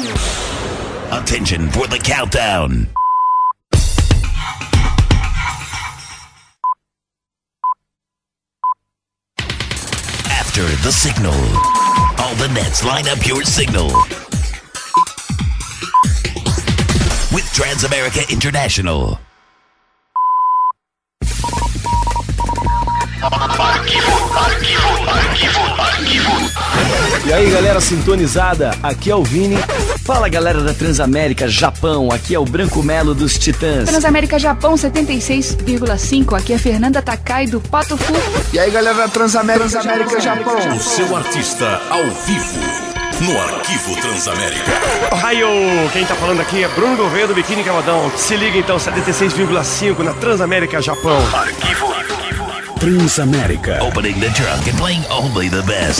Attention for the countdown. After the signal, all the nets line up your signal. With Transamerica International. E aí, galera sintonizada, aqui é o Vini. Fala, galera da Transamérica Japão, aqui é o Branco Melo dos Titãs. Transamérica Japão 76,5, aqui é Fernanda Takai do Pato Fu. E aí, galera da Transamérica Japão. O seu artista ao vivo no Arquivo Transamérica. Ohio! Quem tá falando aqui é Bruno Gouveia do Biquíni Cavadão. Se liga então, 76,5 na Transamérica Japão. Arquivo Transamérica. Opening the trunk and playing only the best.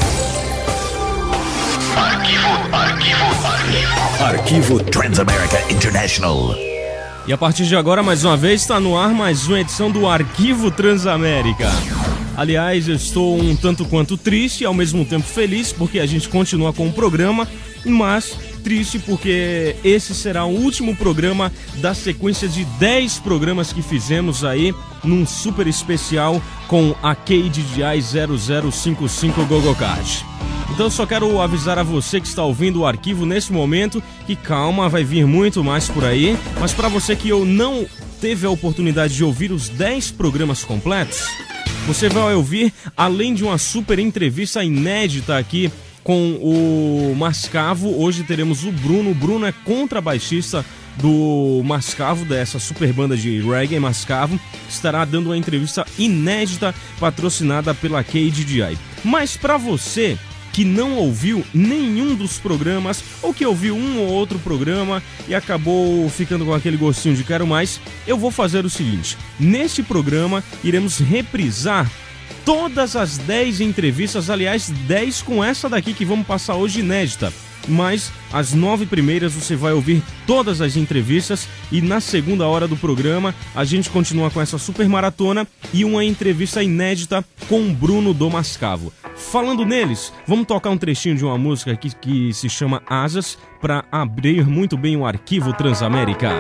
Arquivo Transamerica International. E a partir de agora, mais uma vez, está no ar mais uma edição do Arquivo Transamérica. Aliás, eu estou um tanto quanto triste e ao mesmo tempo feliz, porque a gente continua com o programa, mas triste porque esse será o último programa da sequência de 10 programas que fizemos aí num super especial com a KDJI 0055 GoGoCard. Então eu só quero avisar a você que está ouvindo o arquivo nesse momento que calma, vai vir muito mais por aí, mas para você que não teve a oportunidade de ouvir os 10 programas completos, você vai ouvir, além de uma super entrevista inédita aqui com o Mascavo, hoje teremos o Bruno. O Bruno é contrabaixista do Mascavo, dessa super banda de reggae Mascavo, estará dando uma entrevista inédita patrocinada pela KDJI. Mas para você que não ouviu nenhum dos programas, ou que ouviu um ou outro programa e acabou ficando com aquele gostinho de quero mais, eu vou fazer o seguinte: neste programa iremos reprisar todas as 10 entrevistas, aliás, 10 com essa daqui que vamos passar hoje inédita. Mas as 9 primeiras você vai ouvir todas as entrevistas e na segunda hora do programa a gente continua com essa super maratona e uma entrevista inédita com o Bruno do Mascavo. Falando neles, vamos tocar um trechinho de uma música aqui que se chama Asas para abrir muito bem o Arquivo Transamérica.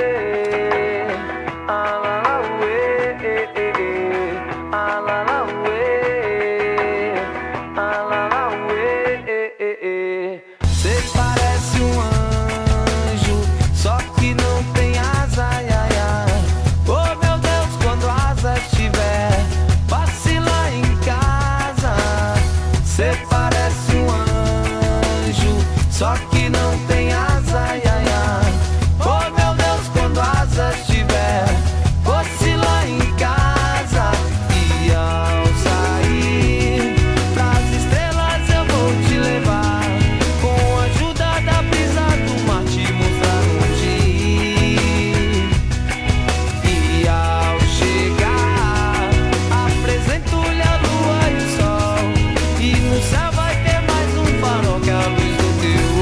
Só que não tem asa, ai, ai, ai. Oh meu Deus, quando asas tiver, fosse lá em casa. E ao sair pras estrelas eu vou te levar, com a ajuda da brisa do mar te mostrar onde ir. E ao chegar apresento-lhe a lua e o sol, e no céu vai ter mais um farol que a luz do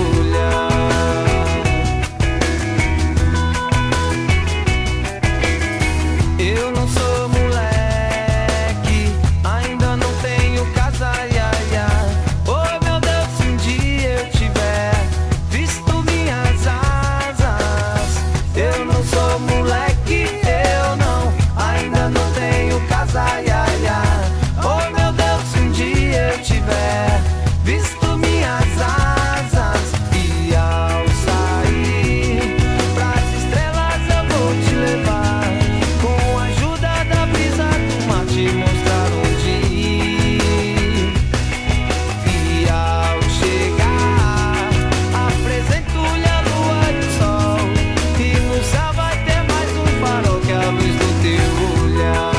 eu não sou moleque, ainda não tenho casa, ai, ai, ai. Oh meu Deus, se um dia eu tiver visto minhas asas. Eu não sou moleque, eu não, ainda não tenho casa, ai, ai, ai. Oh meu Deus, se um dia eu tiver visto minhas asas. E ao sair pras estrelas eu vou te levar, com a ajuda da brisa do mar te mostrar onde ir. E ao chegar apresento-lhe a lua e o sol, e no céu vai ter mais um farol que a luz do teu olhar.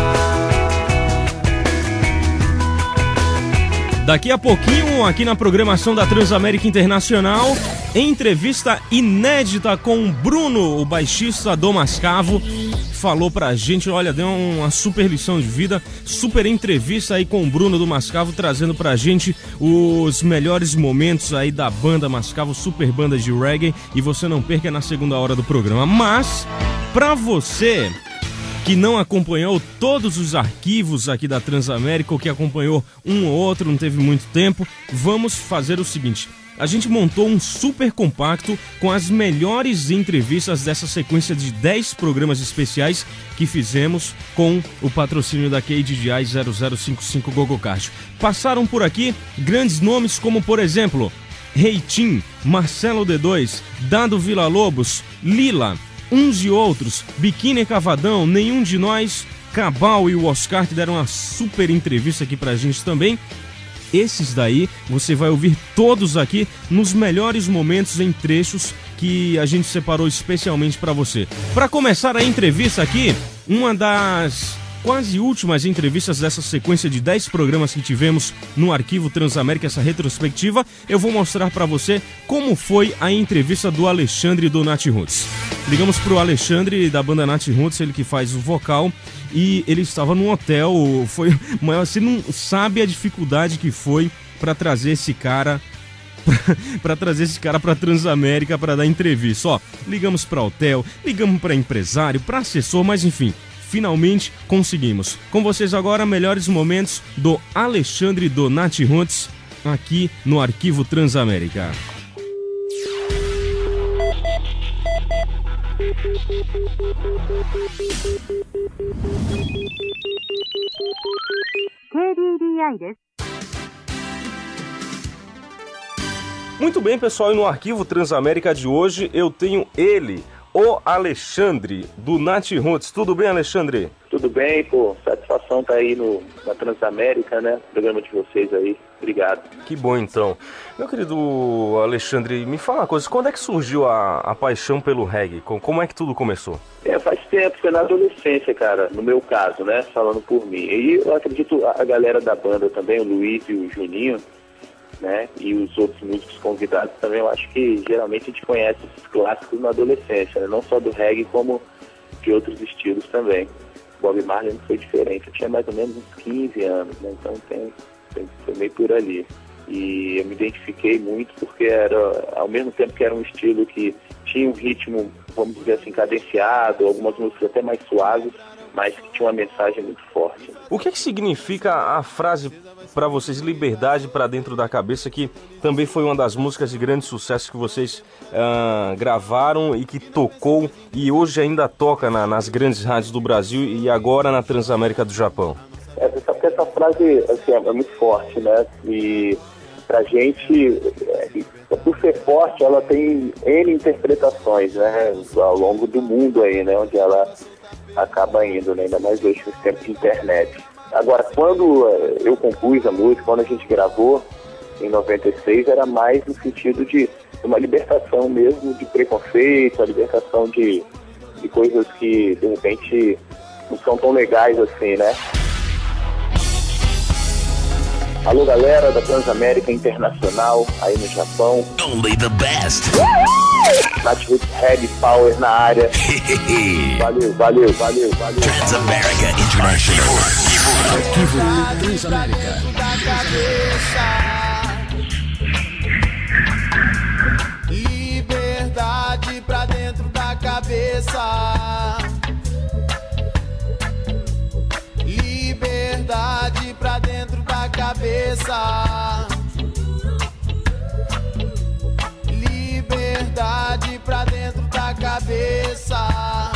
Daqui a pouquinho, aqui na programação da Transamérica Internacional, entrevista inédita com o Bruno, o baixista do Mascavo. Falou pra gente, olha, deu uma super lição de vida, super entrevista aí com o Bruno do Mascavo, trazendo pra gente os melhores momentos aí da banda Mascavo, super banda de reggae, e você não perca na segunda hora do programa. Mas, pra você que não acompanhou todos os arquivos aqui da Transamérica, ou que acompanhou um ou outro, não teve muito tempo, vamos fazer o seguinte: a gente montou um super compacto com as melhores entrevistas dessa sequência de 10 programas especiais que fizemos com o patrocínio da KDJI 0055 GoGoCard. Passaram por aqui grandes nomes como, por exemplo, Reitinho, Marcelo D2, Dado Villa-Lobos, Lila, uns e outros, Biquíni Cavadão, Nenhum de Nós, Cabal e o Oscar, que deram uma super entrevista aqui pra gente também. Esses daí você vai ouvir todos aqui nos melhores momentos em trechos que a gente separou especialmente para você. Para começar a entrevista aqui, uma das quase últimas entrevistas dessa sequência de 10 programas que tivemos no Arquivo Transamérica, essa retrospectiva, eu vou mostrar para você como foi a entrevista do Alexandre do Nath Roots. Ligamos pro Alexandre da banda Nath Roots, ele que faz o vocal, e ele estava num hotel. Mas você não sabe a dificuldade que foi para trazer esse cara para Transamérica para dar entrevista. Ó, ligamos para hotel, ligamos para empresário, para assessor, mas enfim, finalmente conseguimos. Com vocês agora, melhores momentos do Alexandre do Nath Roots aqui no Arquivo Transamérica. Muito bem, pessoal, e no Arquivo Transamérica de hoje eu tenho ele, o Alexandre do Nath Roots. Tudo bem, Alexandre? Tudo bem, pô. Satisfação tá aí na Transamérica, né? Programa de vocês aí. Obrigado. Que bom, então. Meu querido Alexandre, me fala uma coisa. Quando é que surgiu a paixão pelo reggae? Como é que tudo começou? Faz tempo. Foi na adolescência, cara. No meu caso, né? Falando por mim. E eu acredito a galera da banda também, o Luiz e o Juninho, né? E os outros músicos convidados também. Eu acho que geralmente a gente conhece esses clássicos na adolescência, né? Não só do reggae, como de outros estilos também. Bob Marley não foi diferente. Eu tinha mais ou menos uns 15 anos, né? Então foi meio por ali. E eu me identifiquei muito porque era, ao mesmo tempo que era um estilo que tinha um ritmo, vamos dizer assim, cadenciado, algumas músicas até mais suaves, mas que tinha uma mensagem muito forte. O que significa a frase para vocês, liberdade para dentro da cabeça, que também foi uma das músicas de grande sucesso que vocês gravaram e que tocou e hoje ainda toca nas grandes rádios do Brasil e agora na Transamérica do Japão? Essa frase assim, é muito forte, né? E pra gente, por ser forte, ela tem N interpretações, né? Ao longo do mundo aí, né? Onde ela acaba indo, né? Ainda mais hoje nos tempos de internet. Agora, quando eu compus a música, quando a gente gravou, em 96, era mais no sentido de uma libertação mesmo de preconceito, a libertação de coisas que, de repente, não são tão legais assim, né? Alô, galera da Transamérica Internacional, aí no Japão. Only the best. Nath Roots Heavy Power na área. Valeu. Transamérica International. Arquivo Transamérica. Liberdade pra dentro da cabeça. Liberdade pra dentro da cabeça. Liberdade pra dentro da cabeça.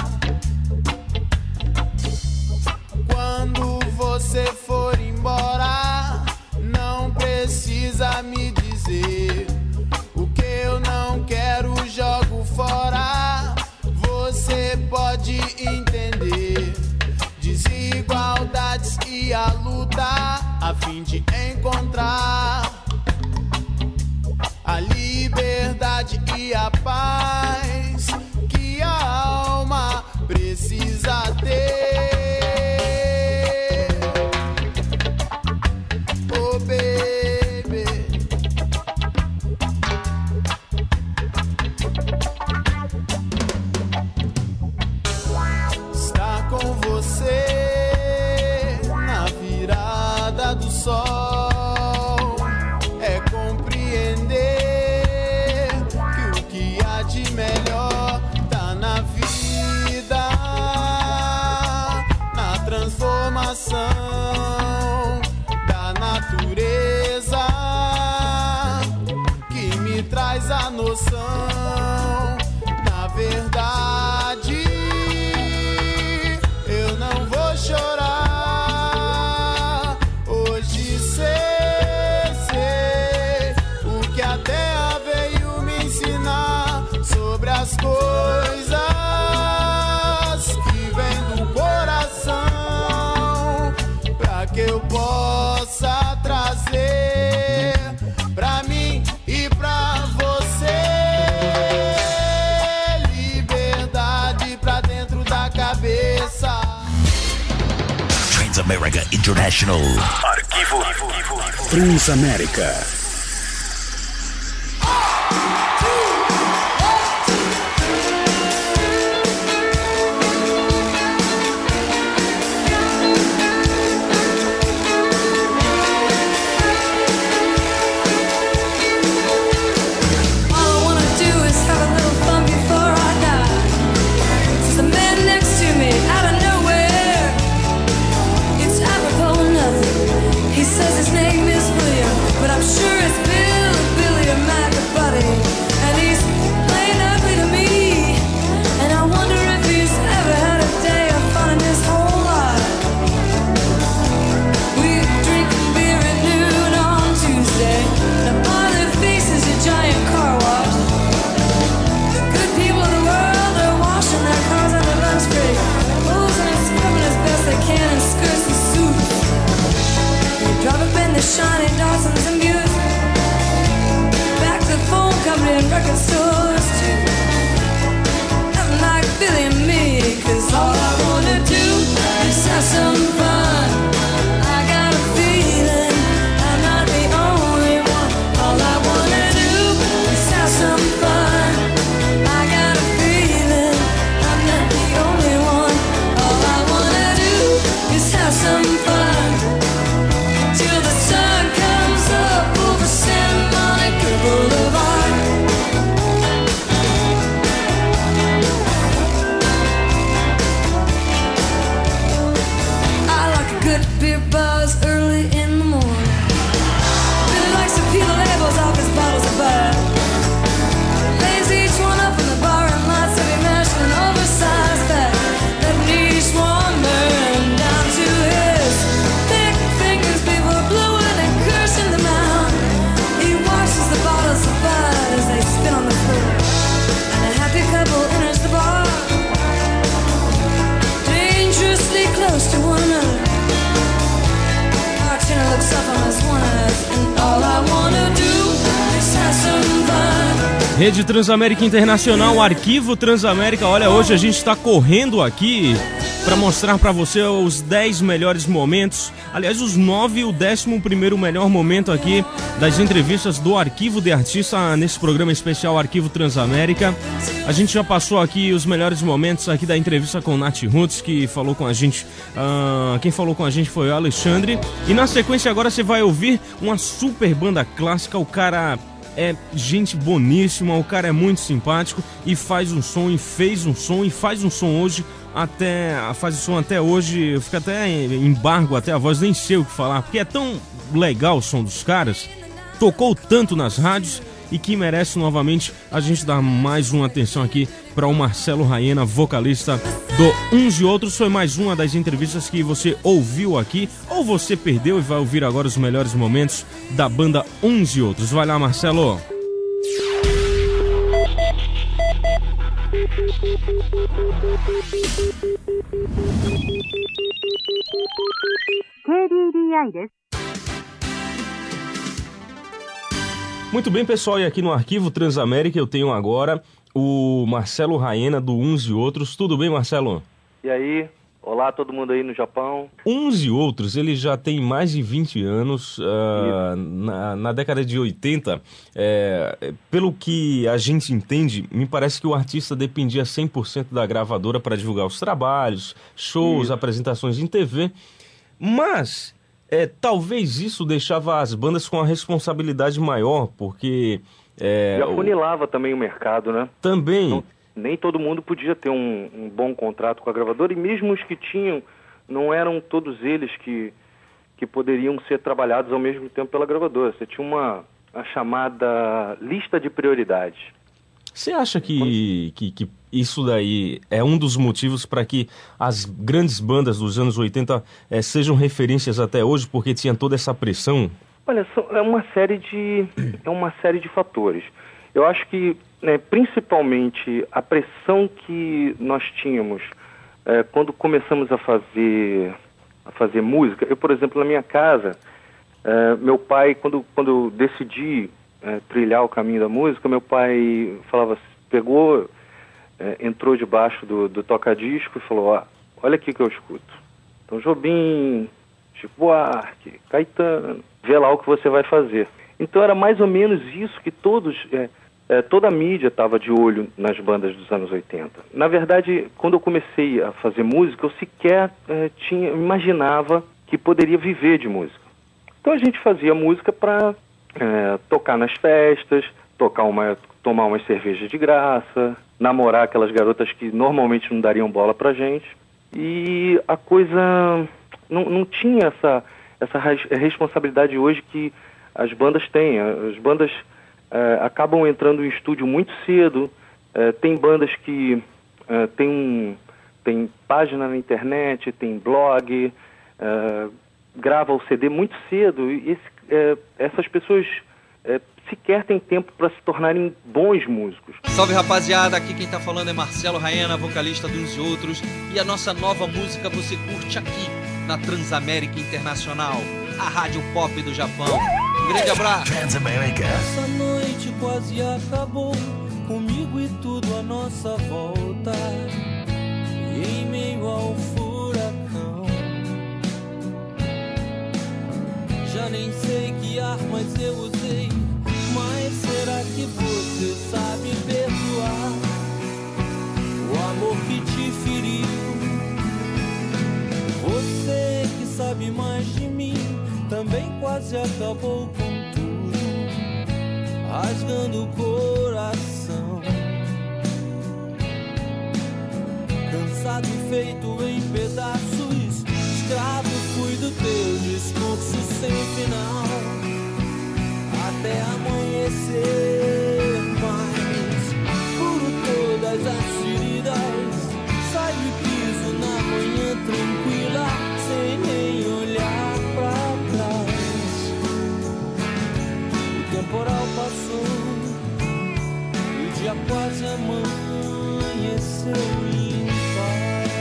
Quando você for embora, não precisa me dizer o que eu não quero, jogo fora. Você pode entender desigualdades e a luta a fim de encontrar a liberdade e a paz que a alma precisa ter. Oh, baby. Estar com você na virada do sol é compreender que o que há de melhor tá na vida, na transformação da natureza que me coração. Na verdade, eu não vou chorar. Hoje sei o que a terra veio me ensinar sobre as coisas que vêm do coração, pra que eu possa trazer pra mim e pra você liberdade pra dentro da cabeça. Transamerica International. Arquivo Transamérica. Shiny Dawson's and Buttes, back to the phone company and record stores too. Nothing like Billy and me, 'cause all I wanna do is have some fun. I got a feeling I'm not the only one. All I wanna do is have some fun. I got a feeling I'm not the only one. All I wanna do is have some fun. Till the sun comes up over Santa Monica Boulevard. I like a good beer buzz early in the morning. Billy likes to peel the labels off his bottles of bud. Lays each one up in the bar and lots of it mashed and oversized fat. That niche one burn down to his thick fingers before blowing and cursing them out. He washes the bottles of bud as they spin on the floor, and a happy couple enters the bar, dangerously close to one another. Bartender looks up on us one eyes, and all I wanna do is have some fun. Rede Transamérica Internacional, Arquivo Transamérica. Olha, hoje a gente está correndo aqui para mostrar para você os 10 melhores momentos, aliás, os 9 e o 11º melhor momento aqui das entrevistas do Arquivo de Artista nesse programa especial Arquivo Transamérica. A gente já passou aqui os melhores momentos aqui da entrevista com Nath Roots, que falou com a gente, quem falou com a gente foi o Alexandre. E na sequência agora você vai ouvir uma super banda clássica. O cara é gente boníssima, o cara é muito simpático e faz um som, e fez um som, e faz um som hoje, faz o som até hoje, fica até em embargo, até a voz, nem sei o que falar, porque é tão legal o som dos caras, tocou tanto nas rádios e que merece novamente a gente dar mais uma atenção aqui para o Marcelo Raena, vocalista do Uns e Outros. Foi mais uma das entrevistas que você ouviu aqui, ou você perdeu e vai ouvir agora os melhores momentos da banda Uns e Outros. Vai lá, Marcelo. Muito bem, pessoal, e aqui no Arquivo Transamérica eu tenho agora o Marcelo Raena do Uns e Outros. Tudo bem, Marcelo? E aí? Olá, todo mundo aí no Japão. Uns e Outros, ele já tem mais de 20 anos, na década de 80, pelo que a gente entende, me parece que o artista dependia 100% da gravadora para divulgar os trabalhos, shows, apresentações em TV, mas talvez isso deixava as bandas com a responsabilidade maior, porque... e afunilava também o mercado, né? Também... Então, nem todo mundo podia ter um bom contrato com a gravadora, e mesmo os que tinham, não eram todos eles que poderiam ser trabalhados ao mesmo tempo pela gravadora. Você tinha a chamada lista de prioridades. Você acha que isso daí é um dos motivos para que as grandes bandas dos anos 80 sejam referências até hoje, porque tinha toda essa pressão? Olha, é uma série de fatores. Eu acho que, principalmente, a pressão que nós tínhamos quando começamos a fazer música. Eu, por exemplo, na minha casa, meu pai, quando eu decidi trilhar o caminho da música, meu pai falava, entrou debaixo do toca-disco e falou, olha aqui que eu escuto. Então, Jobim, Chico Buarque, Caetano, vê lá o que você vai fazer. Então era mais ou menos isso que toda a mídia estava de olho nas bandas dos anos 80. Na verdade, quando eu comecei a fazer música, eu sequer imaginava que poderia viver de música. Então a gente fazia música para tocar nas festas, tomar umas cervejas de graça, namorar aquelas garotas que normalmente não dariam bola pra gente. E a coisa não tinha essa responsabilidade hoje que as bandas têm. As bandas acabam entrando em estúdio muito cedo. Tem bandas que tem página na internet, tem blog, grava o CD muito cedo. E essas pessoas sequer têm tempo para se tornarem bons músicos. Salve, rapaziada, aqui quem tá falando é Marcelo Raena, vocalista de Uns e Outros, e a nossa nova música você curte aqui na Transamérica Internacional, a rádio pop do Japão. Um grande abraço. Transamérica. Essa noite quase acabou, comigo e tudo à nossa volta, e em meio ao furacão. Já nem sei que armas eu usei, mas será que você sabe perdoar o amor que te feriu? Você que sabe mais de mim também quase acabou com tudo, rasgando o coração. Cansado e feito em pedaços, escravo fui do teu discurso sem final, até amanhecer, mas curo todas as feridas, saio e piso na manhã tranquila, sem nem olhar pra trás. O temporal passou, o dia quase amanheceu em paz.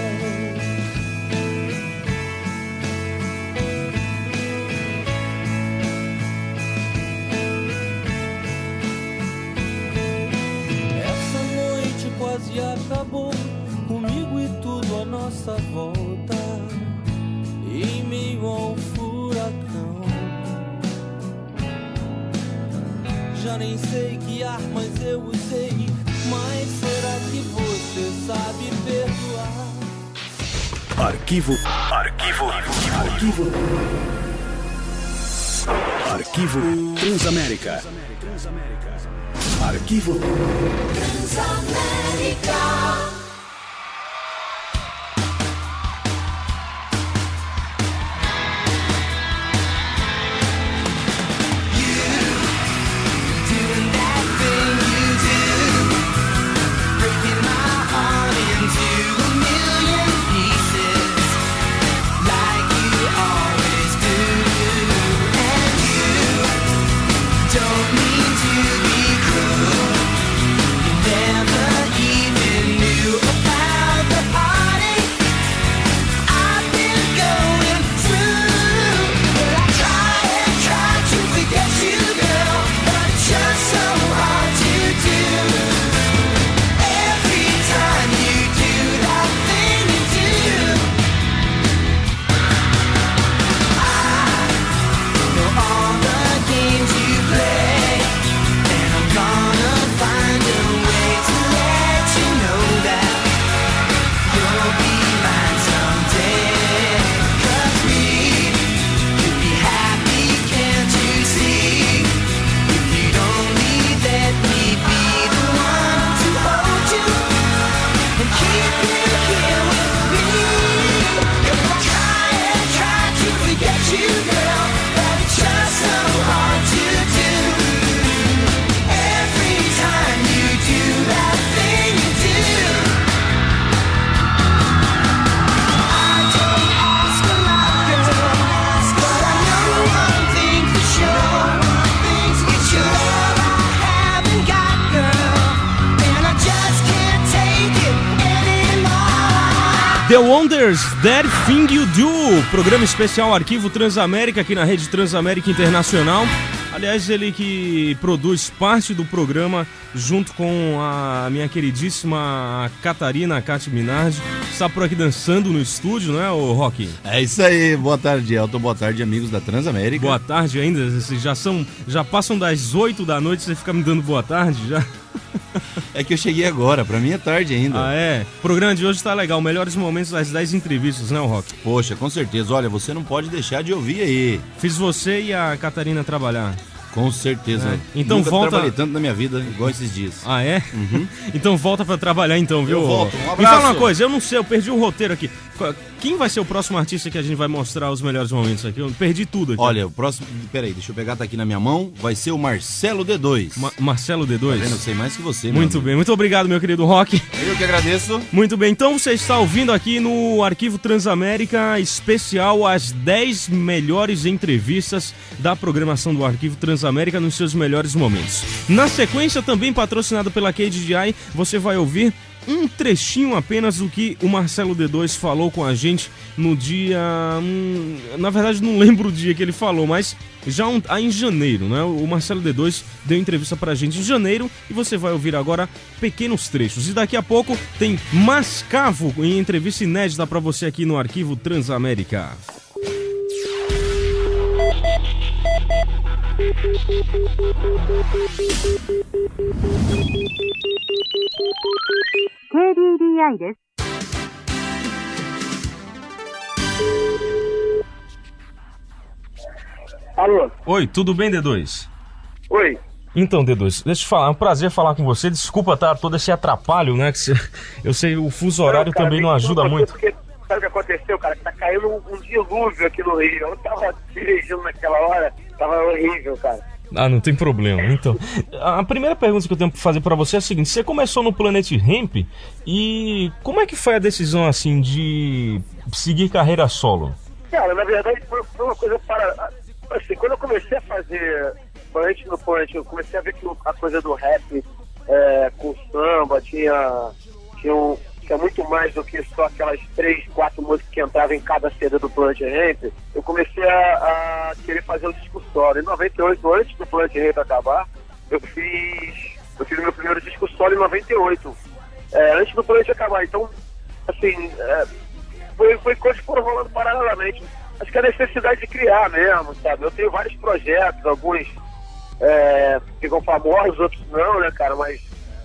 Quase acabou, comigo e tudo à nossa volta, em meio ao furacão. Já nem sei que armas eu usei, mas será que você sabe perdoar? Arquivo Transamérica. Arquivo Transamérica. Don't mean to be cruel. Never even knew The Wonders, That Thing You Do, programa especial Arquivo Transamérica aqui na Rede Transamérica Internacional. Aliás, ele que produz parte do programa junto com a minha queridíssima Catarina Cati Minardi. Está por aqui dançando no estúdio, não é, ô Rock? É isso aí, boa tarde, Elton, boa tarde, amigos da Transamérica. Boa tarde ainda, vocês já passam das 8 da noite, você fica me dando boa tarde já? É que eu cheguei agora, pra mim é tarde ainda. Ah, é? O programa de hoje tá legal, melhores momentos das 10 entrevistas, né, Rock? Poxa, com certeza, olha, você não pode deixar de ouvir aí. Fiz você e a Catarina trabalhar. Com certeza. É. Então nunca volta... trabalhei tanto na minha vida igual esses dias. Ah, é? Uhum. Então volta pra trabalhar então, viu? Eu volto, um abraço. Me fala uma coisa, eu não sei, eu perdi o roteiro aqui. Quem vai ser o próximo artista que a gente vai mostrar os melhores momentos aqui? Eu perdi tudo aqui. Olha, o próximo... Peraí, deixa eu pegar, tá aqui na minha mão. Vai ser o Marcelo D2. Marcelo D2? Tá vendo? Eu sei mais que você, Muito bem, muito obrigado, meu querido Rock. Eu que agradeço. Muito bem, então você está ouvindo aqui no Arquivo Transamérica especial as 10 melhores entrevistas da programação do Arquivo Transamérica nos seus melhores momentos. Na sequência, também patrocinado pela KDDI, você vai ouvir um trechinho apenas do que o Marcelo D2 falou com a gente no dia... na verdade, não lembro o dia que ele falou, mas já em janeiro, né? O Marcelo D2 deu entrevista pra gente em janeiro e você vai ouvir agora pequenos trechos. E daqui a pouco tem Mascavo em entrevista inédita pra você aqui no Arquivo Transamérica. KDDI です。 Alô? Oi, tudo bem, D2? Oi. Então, D2, deixa eu te falar, é um prazer falar com você. Desculpa, tá, todo esse atrapalho, né? Que eu sei, o fuso horário cara, também não ajuda muito. Porque, sabe o que aconteceu, cara? Tá caindo um dilúvio aqui no Rio. Eu tava dirigindo naquela hora, tava horrível, cara. Ah, não tem problema. Então, a primeira pergunta que eu tenho que fazer pra você é a seguinte: você começou no Planet Hemp e como é que foi a decisão, assim, de seguir carreira solo? Cara, na verdade foi uma coisa para... Assim, quando eu comecei a fazer Planet no Planet, eu comecei a ver que a coisa do rap com samba tinha muito mais do que só aquelas 3, 4 músicas que entravam em cada CD do Planet Hemp. Eu comecei a querer fazer o disco solo. Em 98, antes do Planet Hemp acabar, eu fiz meu primeiro disco solo em 98, antes do Planet acabar. Então, assim, foi coisas que foram rolando paralelamente. Acho que a necessidade de criar mesmo, sabe? Eu tenho vários projetos, alguns ficam famosos, outros não, né, cara? Mas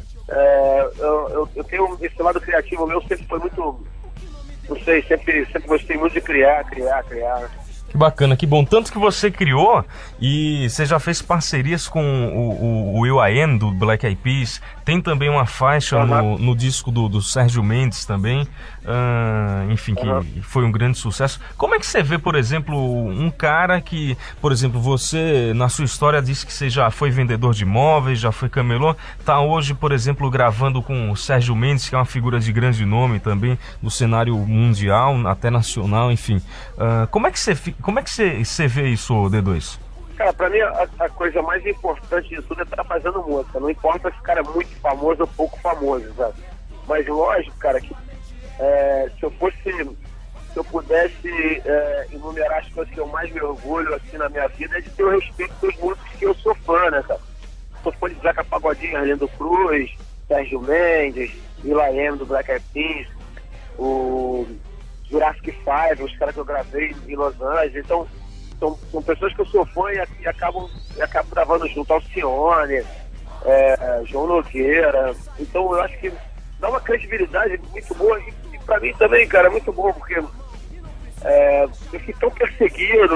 eu tenho esse lado criativo meu, sempre foi muito, não sei, sempre gostei muito de criar. Que bacana, que bom. Tanto que você criou e você já fez parcerias com o will.i.am do Black Eyed Peas. Tem também uma faixa no disco do Sérgio Mendes também. Enfim, que foi um grande sucesso. Como é que você vê, por exemplo, um cara que, por exemplo, você na sua história disse que você já foi vendedor de imóveis, já foi camelô, tá hoje, por exemplo, gravando com o Sérgio Mendes, que é uma figura de grande nome também no cenário mundial, até nacional, enfim. Como é que você vê isso, D2? Cara, pra mim a coisa mais importante de tudo é estar fazendo música. Não importa se o cara é muito famoso ou pouco famoso, sabe? Mas lógico, cara, que se eu pudesse enumerar as coisas que eu mais me orgulho assim na minha vida, é de ter o respeito dos músicos que eu sou fã, né, cara? Sou fã de Zeca Pagodinho, Arlindo Cruz, Sérgio Mendes, will.i.am do Black Eyed Peas, o Jurassic 5, os caras que eu gravei em Los Angeles. Então, são pessoas que eu sou fã e acabo gravando junto, Alcione, João Nogueira. Então eu acho que dá uma credibilidade muito boa e pra mim também, cara, é muito bom, porque eu fui tão perseguido,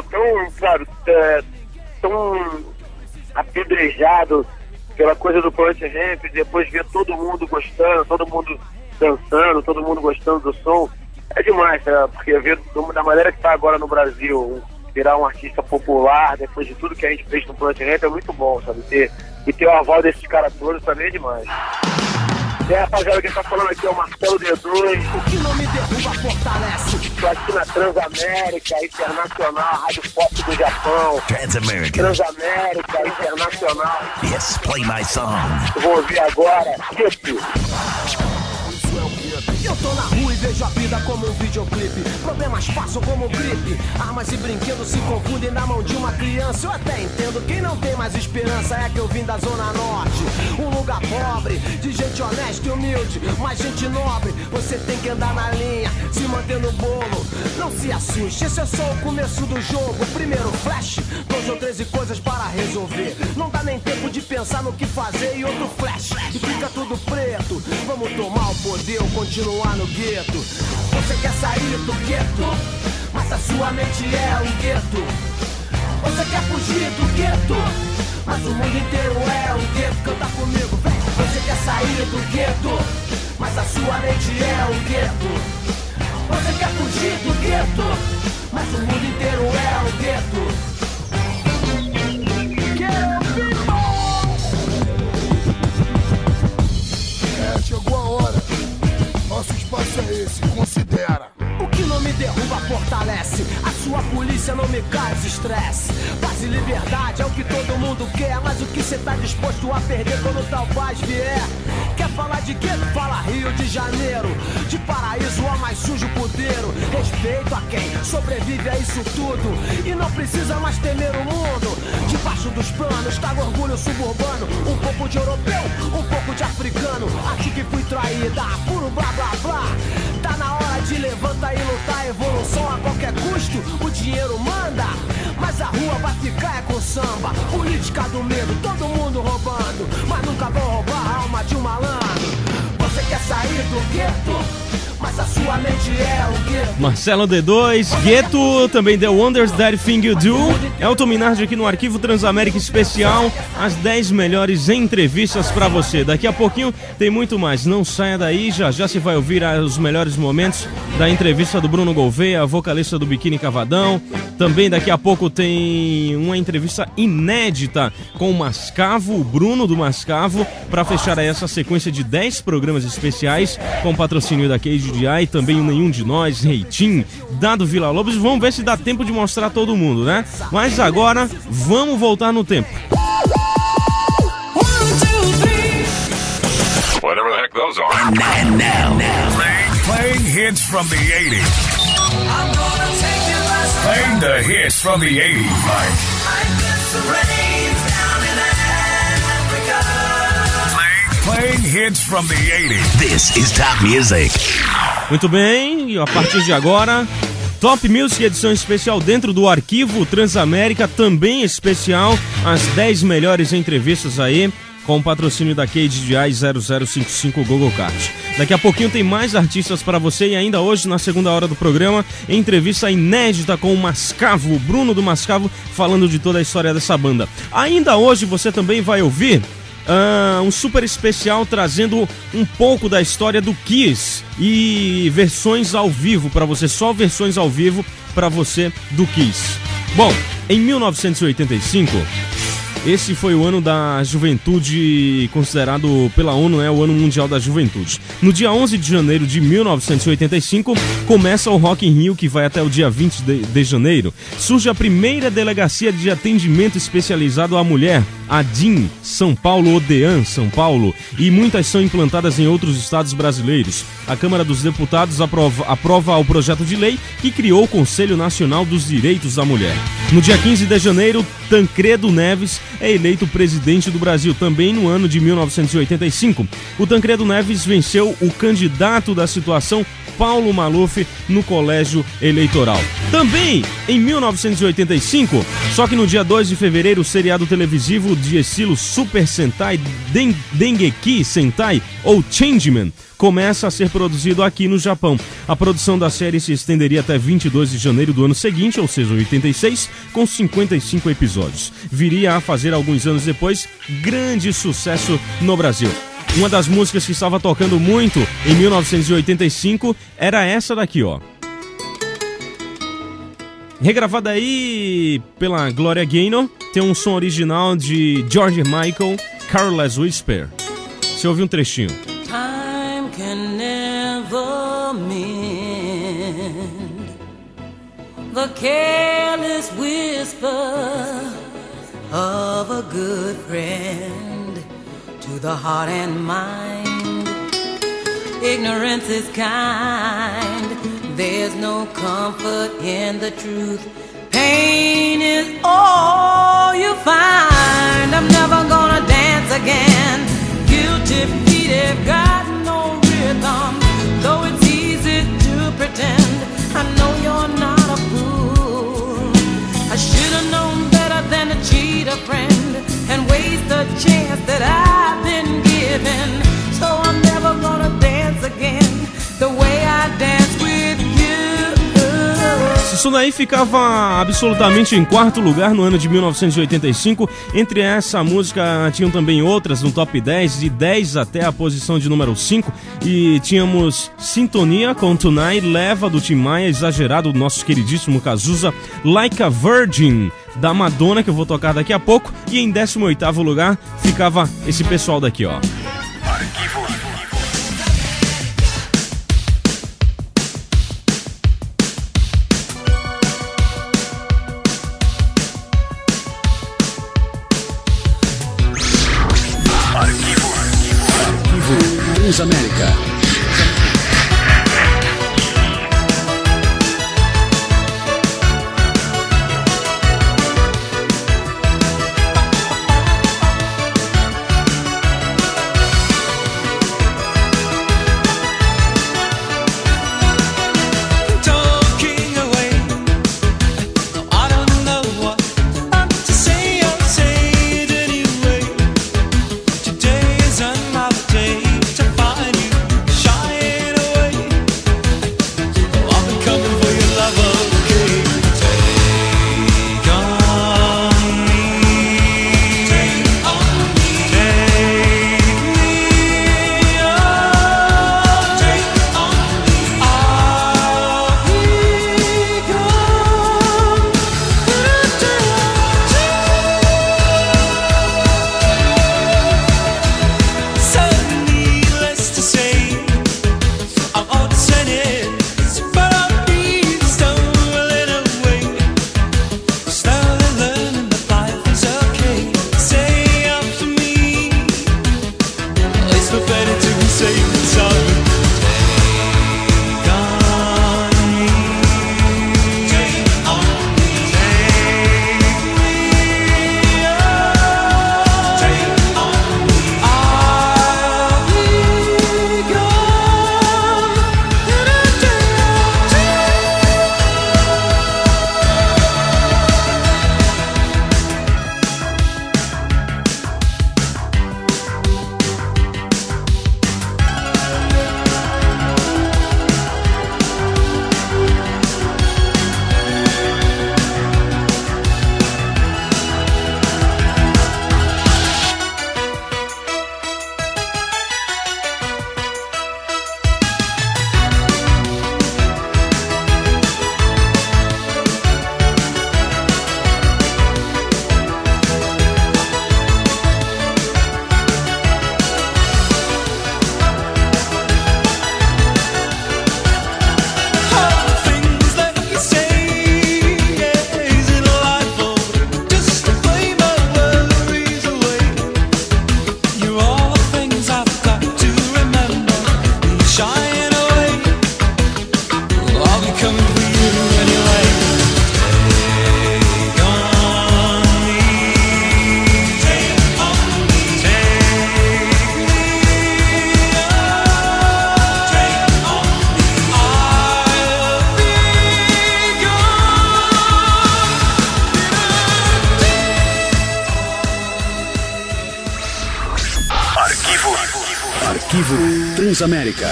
tão apedrejado pela coisa do Planet Hemp, depois ver todo mundo gostando, todo mundo dançando, todo mundo gostando do som. É demais, né? Porque ver da maneira que tá agora no Brasil, virar um artista popular, depois de tudo que a gente fez no Planet Hemp, é muito bom, sabe? E ter o aval desses caras todos também é demais. E aí, rapaziada, quem tá falando aqui é o Marcelo D2. O que não me derruba fortalece. Tô aqui na Transamérica Internacional, Rádio Pop do Japão. Transamérica Internacional. Yes, play my song. Eu vou ouvir agora, Hip. Isso é o que é Eu tô na rua e vejo a vida como um videoclipe. Problemas passam como gripe. Armas e brinquedos se confundem na mão de uma criança. Eu até entendo, quem não tem mais esperança é que eu vim da Zona Norte. Um lugar pobre, de gente honesta e humilde, mas gente nobre. Você tem que andar na linha, se manter no bolo. Não se assuste, esse é só o começo do jogo. Primeiro flash, 2 ou 13 coisas para resolver. Não dá nem tempo de pensar no que fazer. E outro flash, e fica tudo preto. Vamos tomar o poder ou continuar no gueto. Você quer sair do gueto, mas a sua mente é um gueto. Você quer fugir do gueto, mas o mundo inteiro é um gueto. Canta comigo, vem. Você quer sair do gueto, mas a sua mente é um gueto. Você quer fugir do gueto, mas o mundo inteiro é um gueto. Chegou a hora, nosso espaço é esse, considera. O que não me derruba fortalece, a sua polícia não me causa estresse. Paz e liberdade é o que todo mundo quer, mas o que cê tá disposto a perder quando tal paz vier? Quer falar de gueto? Fala Rio de Janeiro, de paraíso ao mais sujo pudeiro. Respeito a quem sobrevive a isso tudo e não precisa mais temer o mundo. Debaixo dos planos tá o orgulho suburbano, um pouco de europeu, um pouco de africano. Aqui que fui traída, puro blá blá blá. Tá na hora de levantar e lutar, evolução a qualquer custo. O dinheiro manda, mas a rua vai ficar com samba. Política do medo, todo mundo roubando, mas nunca vão roubar a alma de um malandro. Você quer sair do gueto, mas a sua mente é o gueto. Marcelo D2, Gueto, também The Wonders That Thing You Do. Elton Minardi aqui no Arquivo Transamérica Especial, as 10 melhores entrevistas pra você. Daqui a pouquinho tem muito mais, não saia daí, já se vai ouvir os melhores momentos da entrevista do Bruno Gouveia, vocalista do Biquíni Cavadão. Também daqui a pouco tem uma entrevista inédita com o Mascavo, o Bruno do Mascavo, pra fechar aí essa sequência de 10 programas especiais com patrocínio da KGDI, também o Nenhum de Nós, Reitinho, Dado Vila Lobos. Vamos ver se dá tempo de mostrar todo mundo, né? Mas agora, vamos voltar no tempo. Whatever the heck those are. And now. Playing hits from the 80s. Playing the hits from the 80s Playing hits from the 80s. This is Top Music. Muito bem, e a partir de agora, Top Music, edição especial dentro do Arquivo Transamérica, também especial, as 10 melhores entrevistas aí, com o patrocínio da KGDI 0055 Google Kart. Daqui a pouquinho tem mais artistas para você e ainda hoje, na segunda hora do programa, entrevista inédita com o Mascavo, o Bruno do Mascavo, falando de toda a história dessa banda. Ainda hoje você também vai ouvir um super especial trazendo um pouco da história do Kiss e versões ao vivo para você, só versões ao vivo para você do Kiss. Bom, em 1985... esse foi o ano da juventude, considerado pela ONU, o Ano Mundial da Juventude. No dia 11 de janeiro de 1985, começa o Rock in Rio, que vai até o dia 20 de janeiro. Surge a primeira delegacia de atendimento especializado à mulher, a DIN, São Paulo, Odean, São Paulo, e muitas são implantadas em outros estados brasileiros. A Câmara dos Deputados aprova o projeto de lei que criou o Conselho Nacional dos Direitos da Mulher. No dia 15 de janeiro, Tancredo Neves é eleito presidente do Brasil, também no ano de 1985. O Tancredo Neves venceu o candidato da situação, Paulo Maluf, no colégio eleitoral. Também em 1985, só que no dia 2 de fevereiro, o seriado televisivo de estilo Super Sentai Dengeki Sentai ou Changeman começa a ser produzido aqui no Japão. A produção da série se estenderia até 22 de janeiro do ano seguinte, ou seja, 86, com 55 episódios. Viria a fazer alguns anos depois grande sucesso no Brasil. Uma das músicas que estava tocando muito em 1985 era essa daqui, ó. Regravada aí pela Gloria Gaynor, tem um som original de George Michael, Careless Whisper. Você ouviu um trechinho. Time can never mend the careless whisper of a good friend to the heart and mind. ignorance is kind. There's no comfort in the truth. Pain is all you find. I'm never gonna dance again. Guilty feet have got no rhythm. Though it's easy to pretend, I know you're not a fool. I should have known better than to cheat a friend and waste the chance that I've been given. So I'm never gonna dance again the way I dance with you. Isso daí ficava absolutamente em quarto lugar no ano de 1985. Entre essa música tinham também outras no top 10, de 10 até a posição de número 5. E tínhamos Sintonia com Tonight, Leva do Tim Maia, Exagerado do nosso queridíssimo Cazuza, Like a Virgin da Madonna, que eu vou tocar daqui a pouco. E em 18º lugar ficava esse pessoal daqui, ó. Transamérica. Arquivo Transamérica.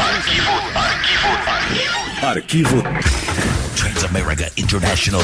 Arquivo Transamerica International.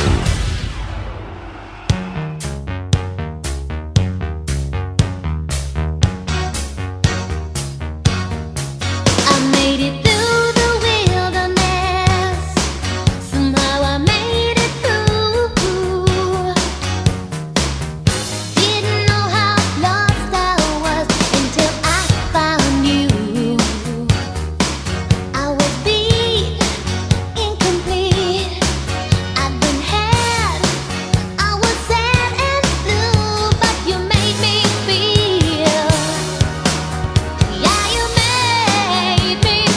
Made me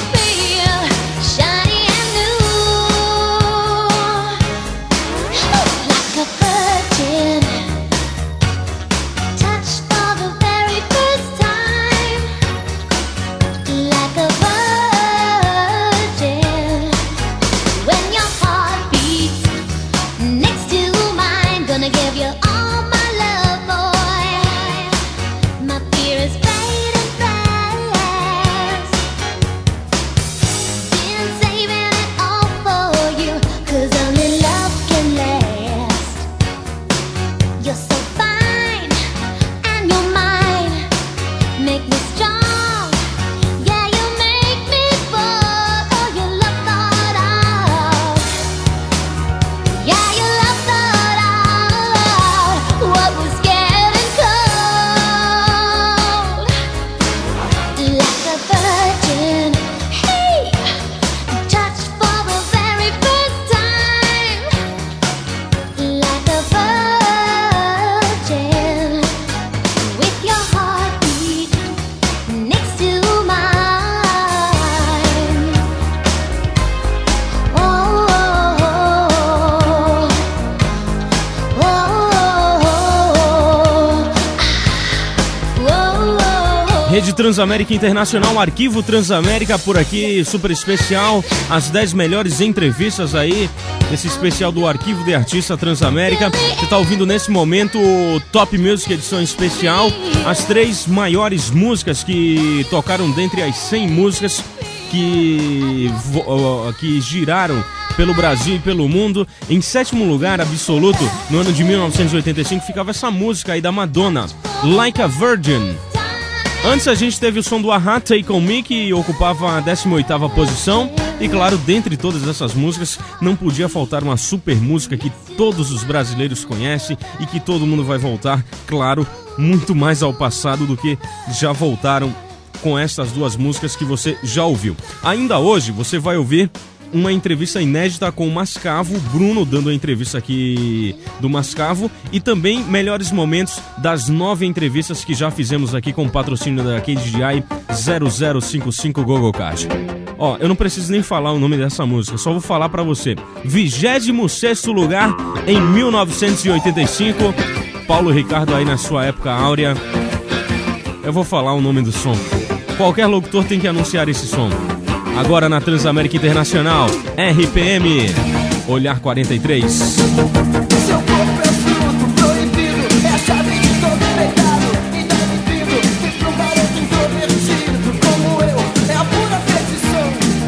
Rede Transamérica Internacional, Arquivo Transamérica por aqui, super especial, as 10 melhores entrevistas aí, nesse especial do Arquivo de Artista Transamérica. Você está ouvindo nesse momento o Top Music edição especial, as 3 maiores músicas que tocaram dentre as 100 músicas que giraram pelo Brasil e pelo mundo. Em 7º lugar absoluto, no ano de 1985, ficava essa música aí da Madonna, Like a Virgin. Antes a gente teve o som do A-ha, Take On Me, que ocupava a 18ª posição. E claro, dentre todas essas músicas, não podia faltar uma super música que todos os brasileiros conhecem e que todo mundo vai voltar, claro, muito mais ao passado do que já voltaram com essas 2 músicas que você já ouviu. Ainda hoje você vai ouvir uma entrevista inédita com o Mascavo, Bruno dando a entrevista aqui do Mascavo, e também melhores momentos das 9 entrevistas que já fizemos aqui com o patrocínio da KDDI 0055 GoGoCard. Ó, eu não preciso nem falar o nome dessa música, só vou falar pra você. 26º lugar em 1985, Paulo Ricardo aí na sua época áurea. Eu vou falar o nome do som. Qualquer locutor tem que anunciar esse som. Agora na Transamérica Internacional, RPM, Olhar 43. Seu corpo é fruto proibido, é a chave de todo pecado. Indefinido, fiz pra um garoto introvertido como eu, é a pura perdição.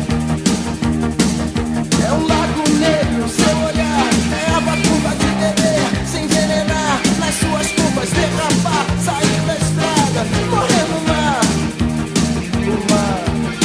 É um lago negro, seu olhar, é a batuba de beber, se envenenar nas suas curvas, derrapar, sair da estrada, morrer no mar. No mar.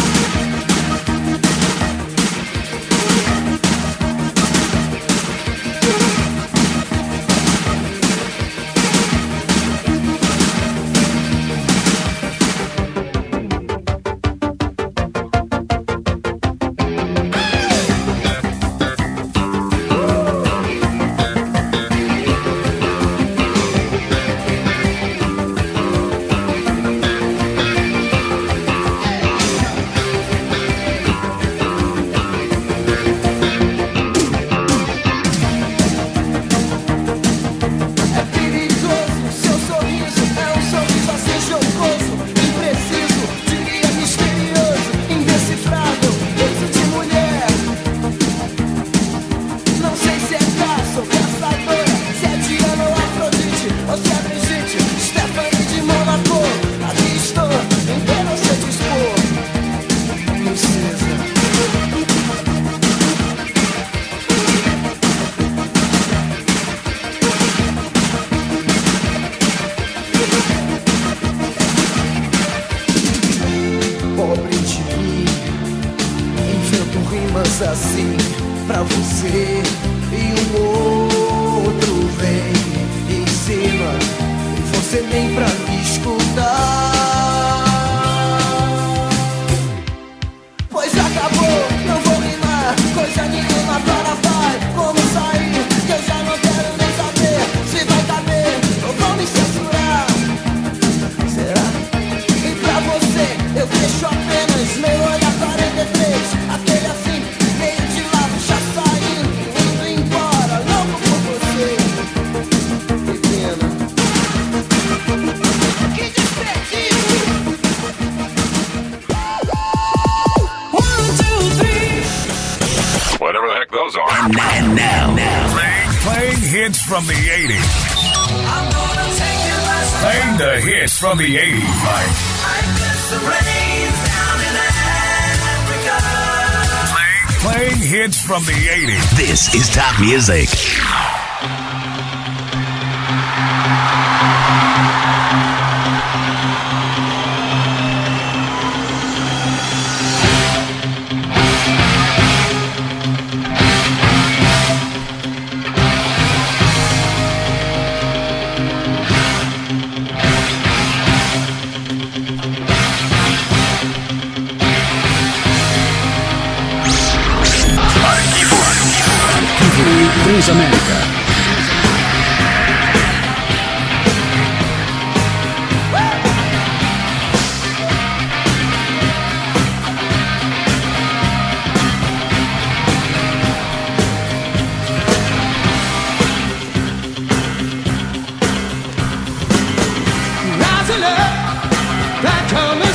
Assim pra você e um outro vem em cima e você nem pra me escutar. Pois acabou, não vou rimar coisa nenhuma, para vai, como sair, que eu já não quero nem saber se vai caber ou vão me censurar. Será? E pra você eu deixo apenas meu olhar 43, aquele assim And now. Playing hits from the 80s. Playing the hits from the 80s like Playing hits from the 80s. This is Top Music. Transamérica. Rising up, that coming.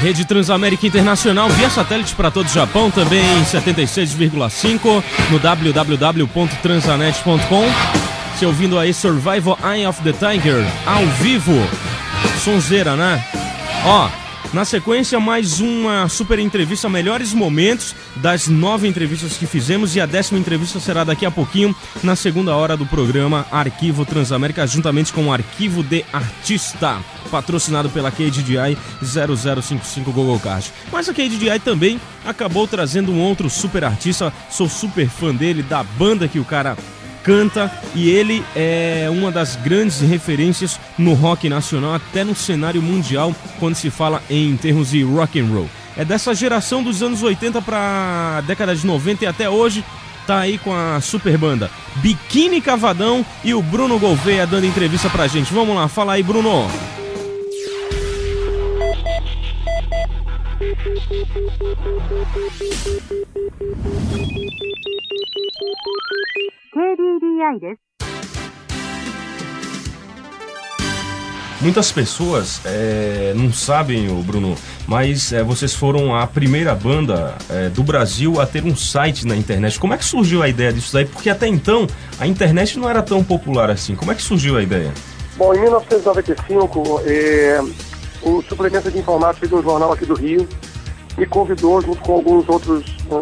Rede Transamérica Internacional via satélite para todo o Japão, também em 76,5 no www.transanet.com. Você ouvindo aí Survival Eye of the Tiger ao vivo. Sonzeira, né? Ó, na sequência mais uma super entrevista, melhores momentos das 9 entrevistas que fizemos, e a 10ª entrevista será daqui a pouquinho, na segunda hora do programa Arquivo Transamérica, juntamente com o Arquivo de Artista, patrocinado pela KDDI 0055 Google Card. Mas a KDDI também acabou trazendo um outro super artista, sou super fã dele, da banda que o cara canta, e ele é uma das grandes referências no rock nacional, até no cenário mundial, quando se fala em termos de rock and roll. É dessa geração dos anos 80 para a década de 90 e até hoje, tá aí com a super banda Biquíni Cavadão e o Bruno Gouveia dando entrevista pra gente. Vamos lá, fala aí, Bruno. Muitas pessoas não sabem, Bruno, mas vocês foram a primeira banda do Brasil a ter um site na internet. Como é que surgiu a ideia disso daí? Porque até então a internet não era tão popular assim. Como é que surgiu a ideia? Bom, em 1995, o Suplemento de Informática de um jornal aqui do Rio me convidou, junto com alguns outros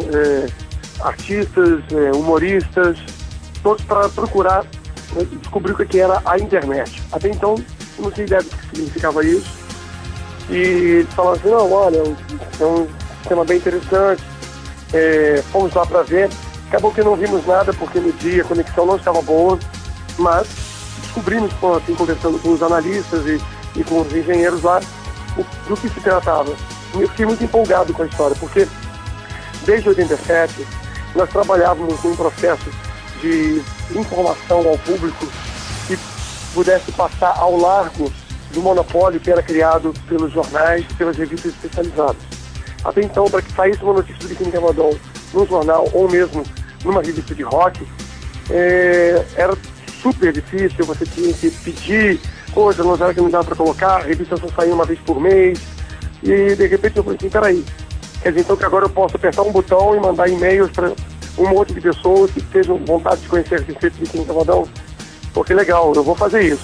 artistas, humoristas, todos para procurar descobrir o que era a internet. Até então, eu não tinha ideia do que significava isso. E falaram assim, não, olha, é um sistema bem interessante, fomos lá para ver. Acabou que não vimos nada, porque no dia a conexão não estava boa, mas descobrimos, assim, conversando com os analistas e com os engenheiros lá, do que se tratava. E eu fiquei muito empolgado com a história, porque desde 87 nós trabalhávamos num processo de informação ao público que pudesse passar ao largo do monopólio que era criado pelos jornais e pelas revistas especializadas. Até então, para que saísse uma notícia do Biquíni Cavadão num jornal ou mesmo numa revista de rock, era super difícil, você tinha que pedir coisa, não era que não dava para colocar, a revista só saía uma vez por mês, e de repente eu falei assim, peraí, quer dizer então que agora eu posso apertar um botão e mandar e-mails para um monte de pessoas que tenham vontade de conhecer a receita do Biquíni Cavadão? Pô, que legal, eu vou fazer isso.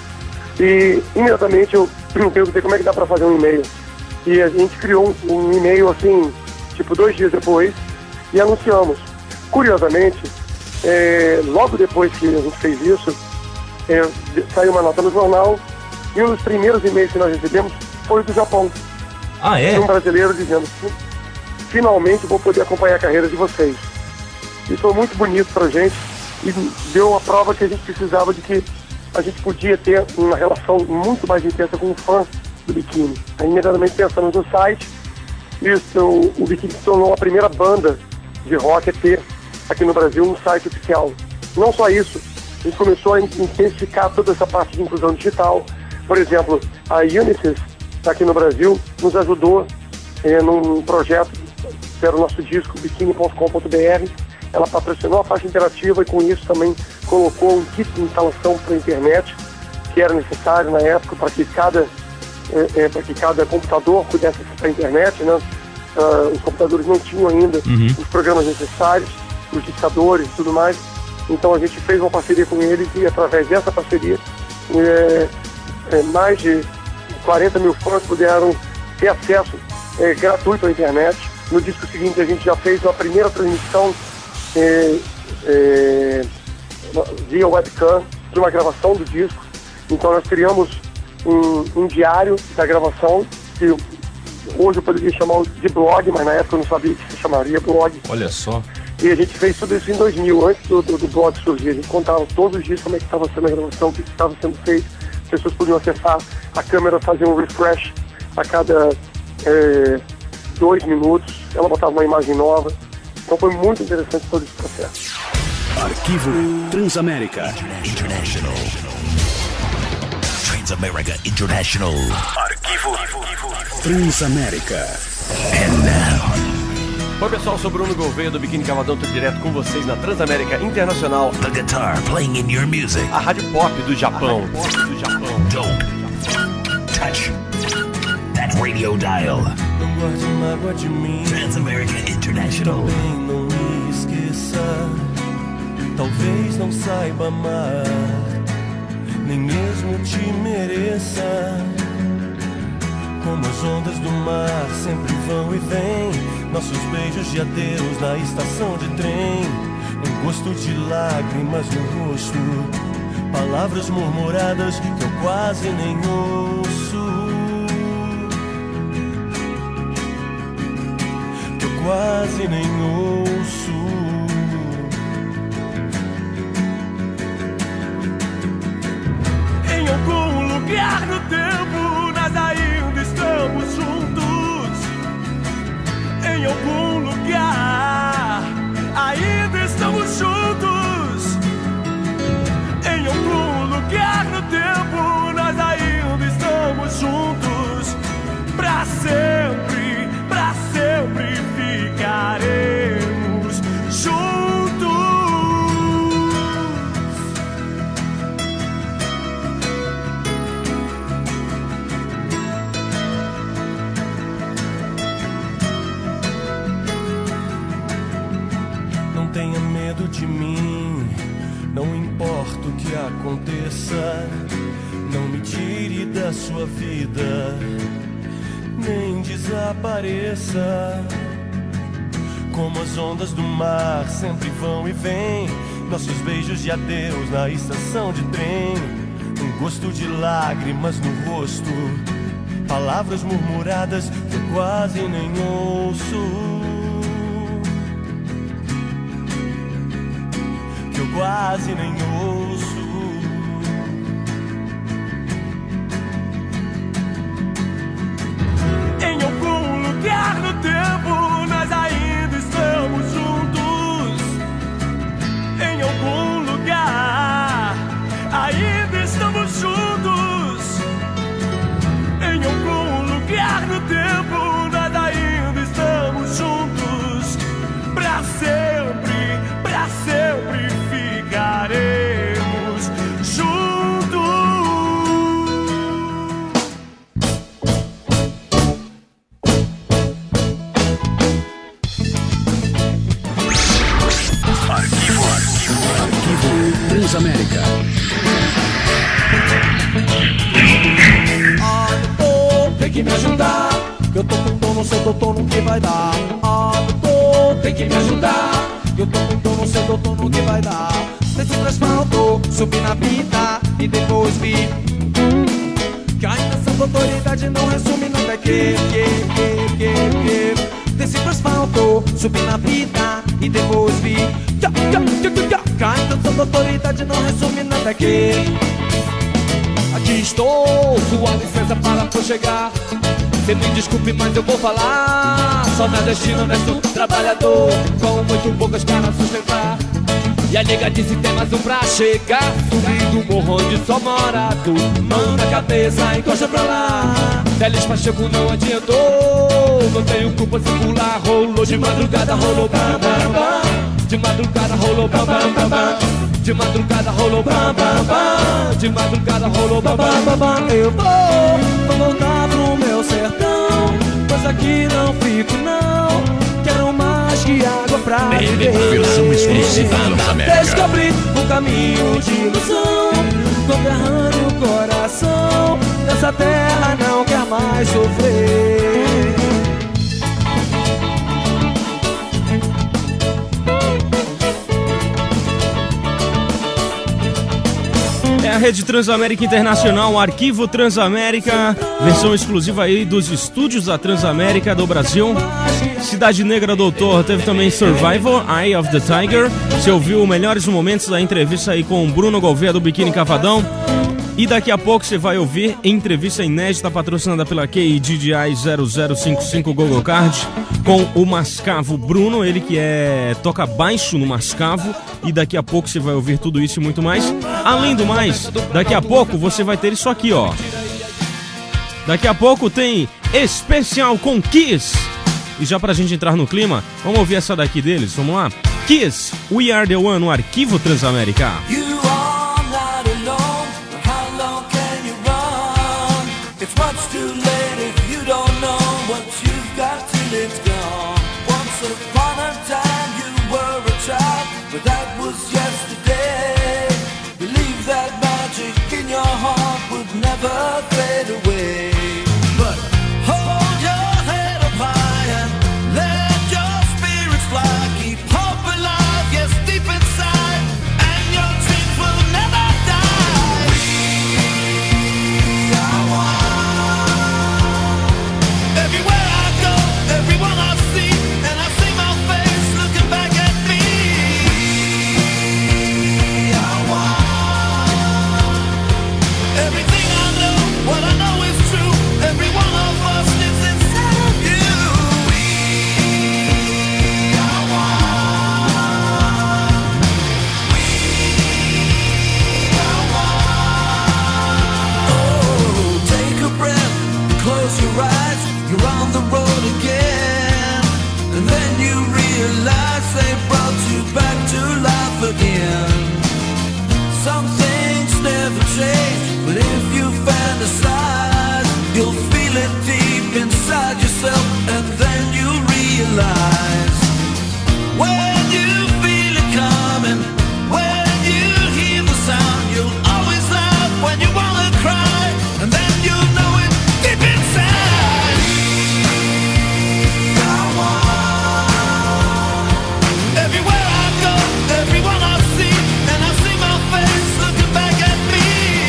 E imediatamente eu perguntei como é que dá para fazer um e-mail. E a gente criou um e-mail assim, tipo 2 dias depois, e anunciamos. Curiosamente, logo depois que a gente fez isso, saiu uma nota no jornal, e um dos primeiros e-mails que nós recebemos foi do Japão. Ah, é? Um brasileiro dizendo, finalmente vou poder acompanhar a carreira de vocês. Isso foi muito bonito pra gente e deu a prova que a gente precisava de que a gente podia ter uma relação muito mais intensa com o fã do Biquíni. Aí imediatamente pensamos no site, e o Biquíni se tornou a primeira banda de rock a ter aqui no Brasil um site oficial. Não só isso, a gente começou a intensificar toda essa parte de inclusão digital. Por exemplo, a Unisys, aqui no Brasil, nos ajudou num projeto que era o nosso disco, biquini.com.br. Ela patrocinou a faixa interativa e com isso também colocou um kit de instalação para a internet, que era necessário na época para que cada computador pudesse acessar a internet, né? Os computadores não tinham ainda os programas necessários, os discadores e tudo mais. Então a gente fez uma parceria com eles e através dessa parceria mais de 40 mil fãs puderam ter acesso gratuito à internet. No disco seguinte a gente já fez uma primeira transmissão via webcam de uma gravação do disco. Então nós criamos um diário da gravação, que hoje eu poderia chamar de blog, mas na época eu não sabia que se chamaria blog. Olha só. E a gente fez tudo isso em 2000, antes do blog surgir. A gente contava todos os dias como é que estava sendo a gravação, o que estava sendo feito. As pessoas podiam acessar a câmera, fazer um refresh a cada 2 minutos. Ela botava uma imagem nova. Então foi muito interessante todo esse processo. Arquivo Transamérica International. Transamérica International. Arquivo Transamérica. And now. Oi pessoal, sou Bruno Gouveia do Biquíni Cavadão, tô direto com vocês na Transamérica Internacional. The guitar playing in your music. A rádio pop do Japão. Don't touch that radio dial. Não guarde mágoa de mim. Transamerica International. Também não me esqueça. Talvez não saiba amar, nem mesmo te mereça. Como as ondas do mar sempre vão e vêm, nossos beijos de adeus na estação de trem. Um gosto de lágrimas no rosto, palavras murmuradas que eu quase nem ouço, que eu quase nem ouço. Em algum lugar no tempo nós ainda estamos juntos. Em algum lugar ainda estamos juntos. Em algum lugar no tempo nós ainda estamos juntos. Pra sempre ficaremos juntos. Não tenha medo de mim, não importa o que aconteça. Não me tire da sua vida, nem desapareça. Como as ondas do mar sempre vão e vêm, nossos beijos de adeus na estação de trem. Um gosto de lágrimas no rosto, palavras murmuradas que eu quase nem ouço, que eu quase nem ouço. Em algum lugar no tempo nós ainda estamos juntos. Em algum lugar ainda estamos juntos. Em algum lugar no tempo nós ainda estamos juntos. Pra sempre ficaremos juntos. Arquivo Transamérica. Doutor, tem que me ajudar, eu tô com dor, não sei, doutor, no que vai dar. Doutor, tem que me ajudar, eu tô com dor, não sei, doutor, no que vai dar. Desci pro asfalto, subi na pista e depois vi que a intenção da autoridade não resume nada que. Desci pro asfalto, subi na pista e depois vi que a intenção da autoridade não resume nada que. Aqui estou, sua licença para prosseguir. Cê me desculpe, mas eu vou falar. Só na destino, honesto, trabalhador, com muito poucas para sustentar. E a nega disse tem mais um pra chegar. Subindo o morro onde só mora tu. Mão na cabeça, encosta pra lá. Teles Pacheco não adiantou. Não tenho culpa se pular. Rolou de madrugada, rolou bam bam bam. De madrugada rolou bam bam bam bam. De madrugada rolou bam bam bam. De madrugada rolou bam bam bam bam. Eu vou voltar pro meu sertão, pois aqui não fico não. Quero mais que água pra viver. Versão exclusiva Transamérica. Descobri o caminho de ilusão, conterrâneo o coração. Nessa terra não quer mais sofrer. É a Rede Transamérica Internacional, Arquivo Transamérica, versão exclusiva aí dos estúdios da Transamérica do Brasil. Cidade Negra Doutor, teve também Survival, Eye of the Tiger. Você ouviu melhores momentos da entrevista aí com o Bruno Gouveia do Biquíni Cavadão. E daqui a pouco você vai ouvir entrevista inédita patrocinada pela KDDI 0055 Google Card com o Mascavo Bruno, ele que toca baixo no Mascavo. E daqui a pouco você vai ouvir tudo isso e muito mais. Além do mais, daqui a pouco você vai ter isso aqui, ó. Daqui a pouco tem especial com Kiss. E já pra gente entrar no clima, vamos ouvir essa daqui deles, vamos lá? Kiss, We Are The One, no Arquivo Transamérica. It's much too late if you don't know what you've got. Believe that magic in your heart would never fade away. But hold your head up high and let your spirits fly. Keep hope alive, yes, deep inside, and your dreams will never die. We are one. Everywhere I go, everyone I see, and I see my face looking back at me. We are one. Everything I know, what I know is true. Every one of us lives inside of you. We are one. We are one. Oh, take a breath, close your eyes. You're on the road again, and then you realize they brought you back to life again. Some things never change, but if you fantasize, you'll feel it deep inside yourself, and then you realize when you feel it coming, when you hear the sound, you'll always laugh when you wanna cry, and then you'll know it deep inside. Everywhere I go, everyone I see, and I see my face looking back at me.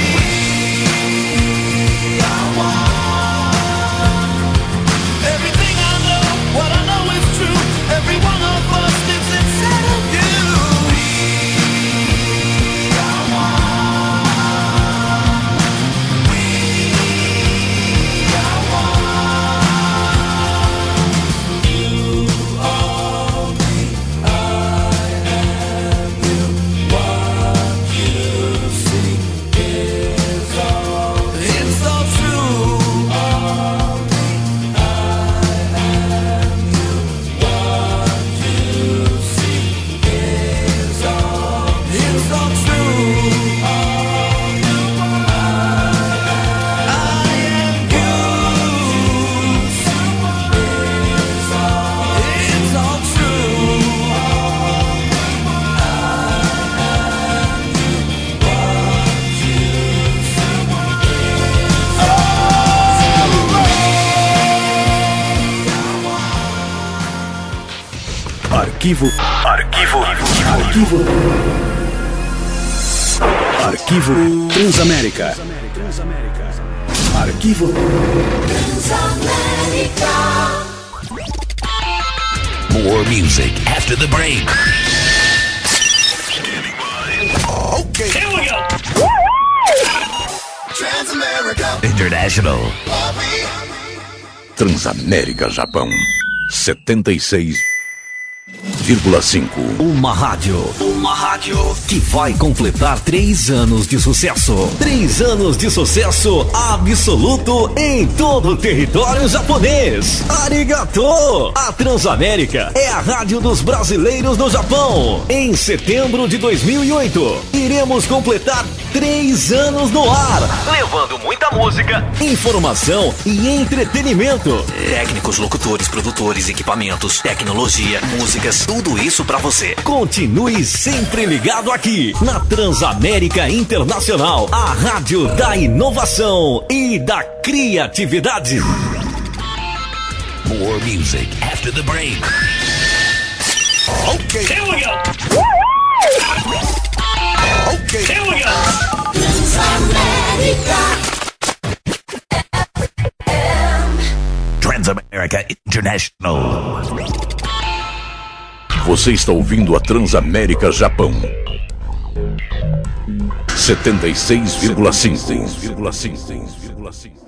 We are one. Everything I know, what I know is true. Every one of us lives inside of you. We are one. We are one. You are me, I am you. What you see is all. It's all true. Are me, I am you. What you see is all. It's all true. Are you, I am you. It's all true. Arquivo. Arquivo Transamérica. Arquivo More music after the break. Okay. Here we go. Transamerica. International. Transamérica Japão 76,5. Uma rádio que vai completar 3 anos de sucesso. 3 anos de sucesso absoluto em todo o território japonês. Arigato! A Transamérica é a rádio dos brasileiros no Japão. Em setembro de 2008, iremos completar 3 anos no ar, levando muita música, informação e entretenimento. Técnicos, locutores, produtores, equipamentos, tecnologia, músicas, tudo isso pra você. Continue sempre ligado aqui na Transamérica Internacional, a rádio da inovação e da criatividade. More music after the break. Okay. Here we go. Okay. Here we go. Transamérica International. Você está ouvindo a Transamérica Japão 76,5.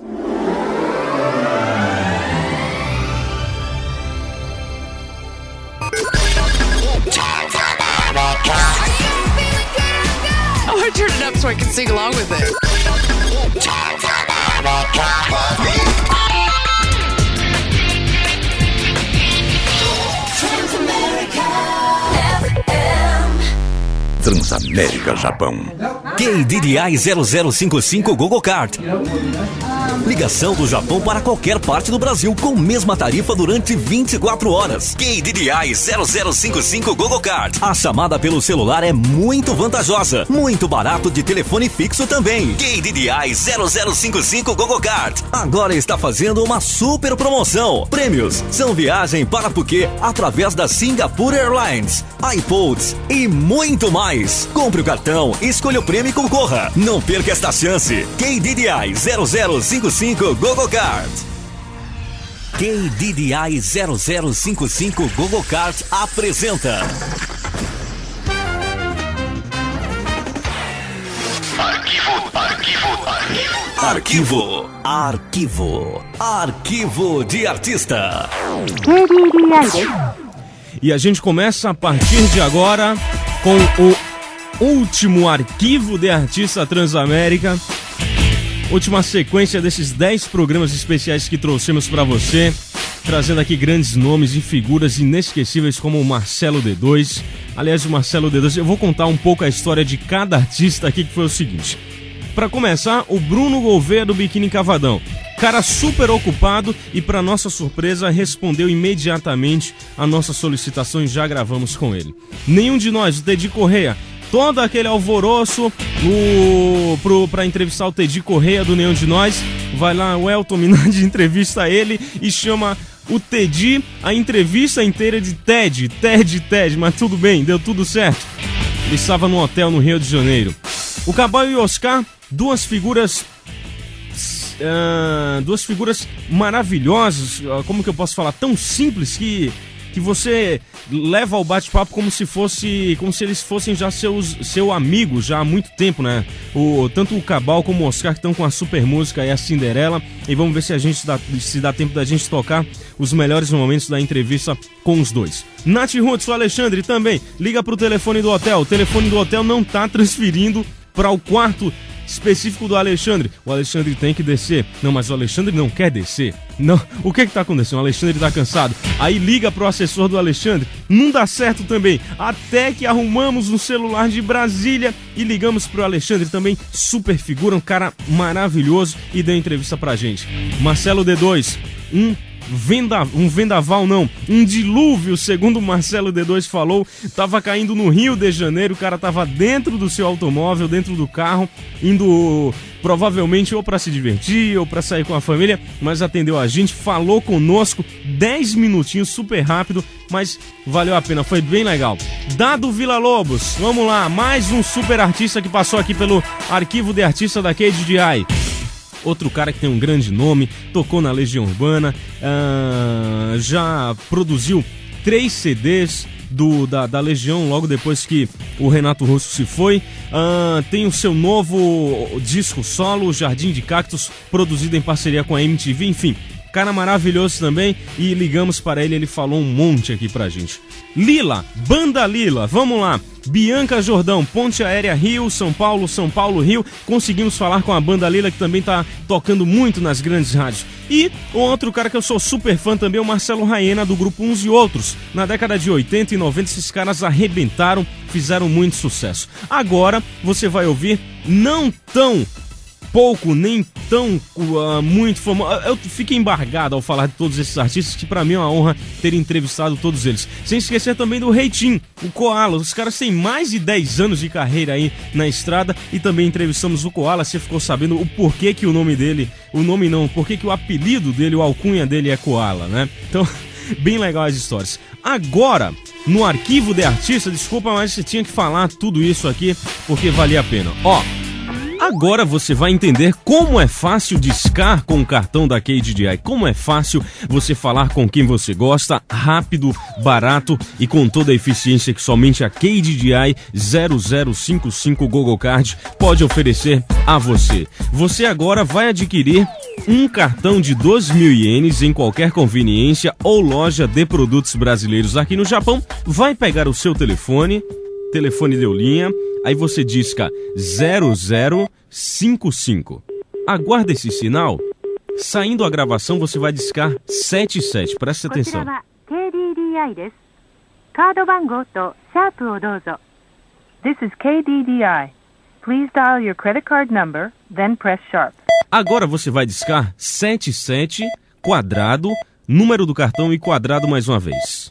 Oh, I turned it up so I can sing along with it. Transamérica Japão. KDDI 0055 Google Card. Ligação do Japão para qualquer parte do Brasil com mesma tarifa durante 24 horas. KDDI 0055 GoGoCard. A chamada pelo celular é muito vantajosa. Muito barato de telefone fixo também. KDDI 0055 GoGoCard. Agora está fazendo uma super promoção. Prêmios são viagem para Phuket através da Singapore Airlines, iPods e muito mais. Compre o cartão, escolha o prêmio e concorra. Não perca esta chance. KDDI 0055 GoGoCard. KDDI 0055 GoGoCard apresenta Arquivo de Artista. E a gente começa a partir de agora com o último Arquivo de Artista Transamérica. Última sequência desses 10 programas especiais que trouxemos para você, trazendo aqui grandes nomes e figuras inesquecíveis como o Marcelo D2. Aliás, o Marcelo D2, eu vou contar um pouco a história de cada artista aqui, que foi o seguinte. Para começar, o Bruno Gouveia do Biquíni Cavadão. Cara super ocupado e, para nossa surpresa, respondeu imediatamente a nossa solicitação e já gravamos com ele. Nenhum de nós, o Teddy Correia, todo aquele alvoroço para entrevistar o Teddy Correia do Nenhum de Nós. Vai lá, o Elton Minardi entrevista ele e chama o Teddy, a entrevista inteira de Ted, mas tudo bem, deu tudo certo. Ele estava num hotel no Rio de Janeiro. O Cabal e o Oscar, duas figuras maravilhosas, como que eu posso falar, tão simples que você leva ao bate-papo como se eles fossem já seu amigo já há muito tempo, né? Tanto o Cabal como o Oscar que estão com a super música e a Cinderela, e vamos ver se dá tempo da gente tocar os melhores momentos da entrevista com os dois. Nath Roots, o Alexandre também liga pro telefone do hotel. O telefone do hotel não tá transferindo para o quarto específico do Alexandre. O Alexandre tem que descer. Não, mas o Alexandre não quer descer. Não. O que tá acontecendo? O Alexandre tá cansado. Aí liga pro assessor do Alexandre. Não dá certo também. Até que arrumamos um celular de Brasília e ligamos pro Alexandre também. Super figura, um cara maravilhoso, e deu entrevista pra gente. Marcelo D2, um dilúvio, segundo o Marcelo D2 falou, tava caindo no Rio de Janeiro, o cara tava dentro do seu automóvel, dentro do carro, indo provavelmente ou para se divertir ou para sair com a família, mas atendeu a gente, falou conosco 10 minutinhos, super rápido, mas valeu a pena, foi bem legal. Dado Villa-Lobos, vamos lá, mais um super artista que passou aqui pelo Arquivo de Artista da KDDI. Outro cara que tem um grande nome, tocou na Legião Urbana, já produziu 3 CDs da Legião logo depois que o Renato Russo se foi. Tem o seu novo disco solo, Jardim de Cactos, produzido em parceria com a MTV, enfim. Cara maravilhoso também, e ligamos para ele falou um monte aqui pra gente. Lila, Banda Lila, vamos lá. Bianca Jordão, Ponte Aérea Rio, São Paulo Rio. Conseguimos falar com a Banda Lila, que também tá tocando muito nas grandes rádios. E o outro cara que eu sou super fã também é o Marcelo Raena, do grupo Uns e Outros. Na década de 80 e 90 esses caras arrebentaram, fizeram muito sucesso. Agora você vai ouvir não tão pouco, nem tão muito famoso. Eu fico embargado ao falar de todos esses artistas, que pra mim é uma honra ter entrevistado todos eles. Sem esquecer também do Reitinho, o Koala. Os caras têm mais de 10 anos de carreira aí na estrada, e também entrevistamos o Koala. Você ficou sabendo o porquê que o nome dele, porquê que o apelido dele, o alcunha dele é Koala, né? Então, bem legal as histórias. Agora, no Arquivo de Artista, desculpa, mas você tinha que falar tudo isso aqui, porque valia a pena. Agora você vai entender como é fácil discar com o cartão da KDDI, como é fácil você falar com quem você gosta, rápido, barato e com toda a eficiência que somente a KDDI 0055 GoGoCard pode oferecer a você. Você agora vai adquirir um cartão de 2.000 ienes em qualquer conveniência ou loja de produtos brasileiros aqui no Japão, vai pegar o seu telefone deu linha, aí você disca 0055. Aguarda esse sinal. Saindo a gravação, você vai discar 77. Presta atenção. This is KDDI. Please dial your credit card number, then press sharp. Agora você vai discar 77, quadrado, número do cartão e quadrado mais uma vez.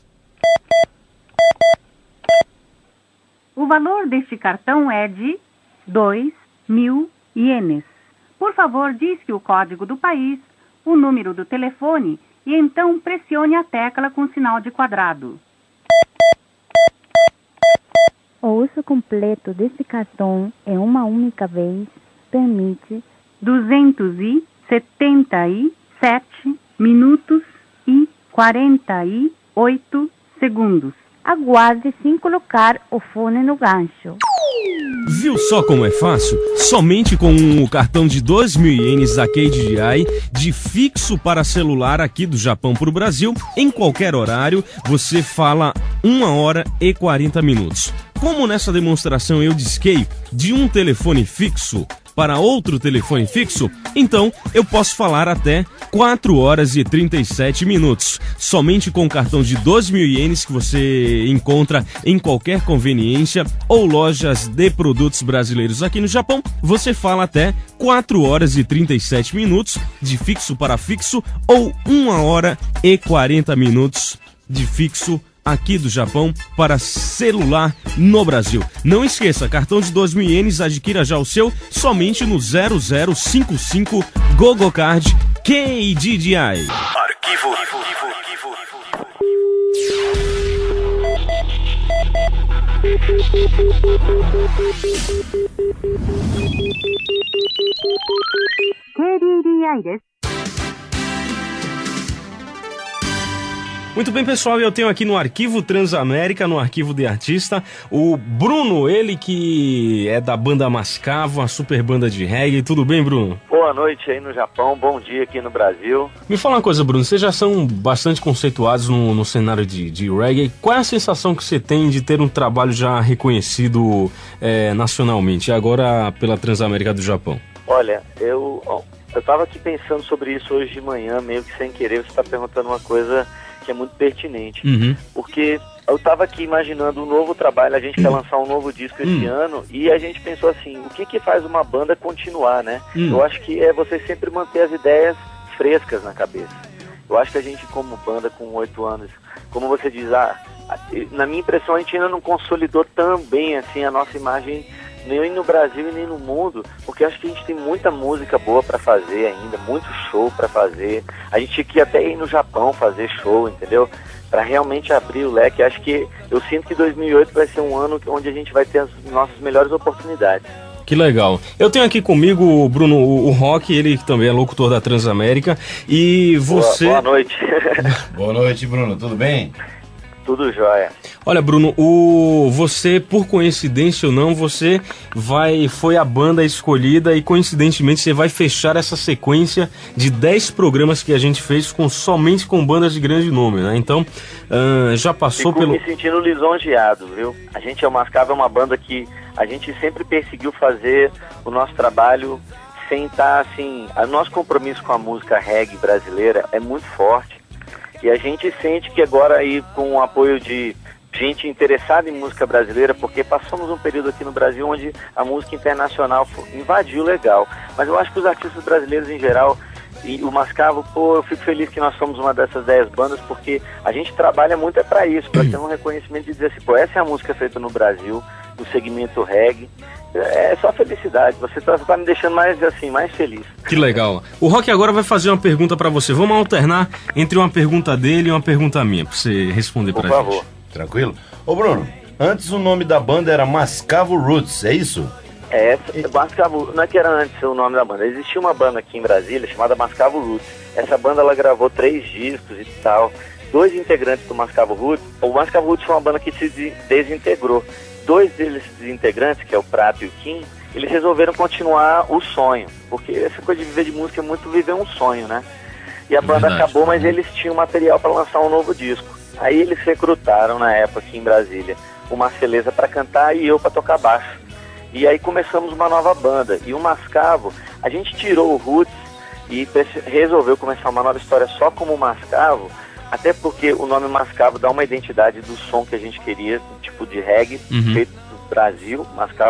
O valor deste cartão é de 2.000 ienes. Por favor, disque o código do país, o número do telefone e então pressione a tecla com sinal de quadrado. O uso completo desse cartão em uma única vez permite 277 minutos e 48 segundos. Aguarde sem colocar o fone no gancho. Viu só como é fácil? Somente com o cartão de 2.000 ienes da KDDI, de fixo para celular aqui do Japão para o Brasil, em qualquer horário, você fala 1 hora e 40 minutos. Como nessa demonstração eu disquei de um telefone fixo para outro telefone fixo, então eu posso falar até 4 horas e 37 minutos. Somente com o cartão de 2.000 ienes que você encontra em qualquer conveniência ou lojas de produtos brasileiros aqui no Japão, você fala até 4 horas e 37 minutos de fixo para fixo ou 1 hora e 40 minutos de fixo aqui do Japão para celular no Brasil. Não esqueça, cartão de 2.000 ienes, adquira já o seu somente no 0055 GoGoCard KDDI. Arquivo. KDDI です。 Muito bem, pessoal, eu tenho aqui no Arquivo Transamérica, no Arquivo de Artista, o Bruno, ele que é da banda Mascavo, a super banda de reggae. Tudo bem, Bruno? Boa noite aí no Japão, bom dia aqui no Brasil. Me fala uma coisa, Bruno, vocês já são bastante conceituados no cenário de reggae. Qual é a sensação que você tem de ter um trabalho já reconhecido nacionalmente, agora pela Transamérica do Japão? Olha, eu tava aqui pensando sobre isso hoje de manhã, meio que sem querer, você tá perguntando uma coisa que é muito pertinente, porque eu tava aqui imaginando um novo trabalho, a gente quer lançar um novo disco esse ano, e a gente pensou assim, o que faz uma banda continuar, né? Eu acho que é você sempre manter as ideias frescas na cabeça. Eu acho que a gente, como banda com 8 anos, como você diz, na minha impressão a gente ainda não consolidou tão bem assim a nossa imagem, nem no Brasil e nem no mundo, porque acho que a gente tem muita música boa pra fazer ainda, muito show pra fazer. A gente tinha que até ir no Japão fazer show, entendeu? Pra realmente abrir o leque. Acho que eu sinto que 2008 vai ser um ano onde a gente vai ter as nossas melhores oportunidades. Que legal. Eu tenho aqui comigo, Bruno, o Rock, ele também é locutor da Transamérica, e você... Boa noite. Boa noite, Bruno, tudo bem? Tudo jóia. Olha, Bruno, você, por coincidência ou não, você foi a banda escolhida e, coincidentemente, você vai fechar essa sequência de 10 programas que a gente fez somente com bandas de grande nome, né? Então, já passou Fico me sentindo lisonjeado, viu? A gente é o Mascavo, é uma banda que a gente sempre perseguiu fazer o nosso trabalho sem estar, assim... O nosso compromisso com a música reggae brasileira é muito forte. E a gente sente que agora aí, com o apoio de gente interessada em música brasileira, porque passamos um período aqui no Brasil onde a música internacional invadiu legal. Mas eu acho que os artistas brasileiros em geral, e o Mascavo, eu fico feliz que nós somos uma dessas 10 bandas, porque a gente trabalha muito para isso, para ter um reconhecimento de dizer assim, essa é a música feita no Brasil, no segmento reggae. É só felicidade, você tá me deixando mais feliz. Que legal. O Rock agora vai fazer uma pergunta pra você. Vamos alternar entre uma pergunta dele e uma pergunta minha, pra você responder pra gente. Por favor. Tranquilo? Ô Bruno, antes o nome da banda era Mascavo Roots, é isso? Mascavo, não é que era antes o nome da banda. Existia uma banda aqui em Brasília chamada Mascavo Roots. Essa banda, ela gravou 3 discos e tal. 2 integrantes do Mascavo Roots. O Mascavo Roots foi uma banda que se desintegrou. 2 deles integrantes, que é o Prato e o Kim, eles resolveram continuar o sonho, porque essa coisa de viver de música é muito viver um sonho, né? E a banda acabou, mas eles tinham material para lançar um novo disco. Aí eles recrutaram na época aqui em Brasília o Marceleza para cantar e eu para tocar baixo. E aí começamos uma nova banda. E o Mascavo, a gente tirou o Roots e resolveu começar uma nova história só como Mascavo, até porque o nome Mascavo dá uma identidade do som que a gente queria, tipo de reggae, feito do Brasil. Mascavo,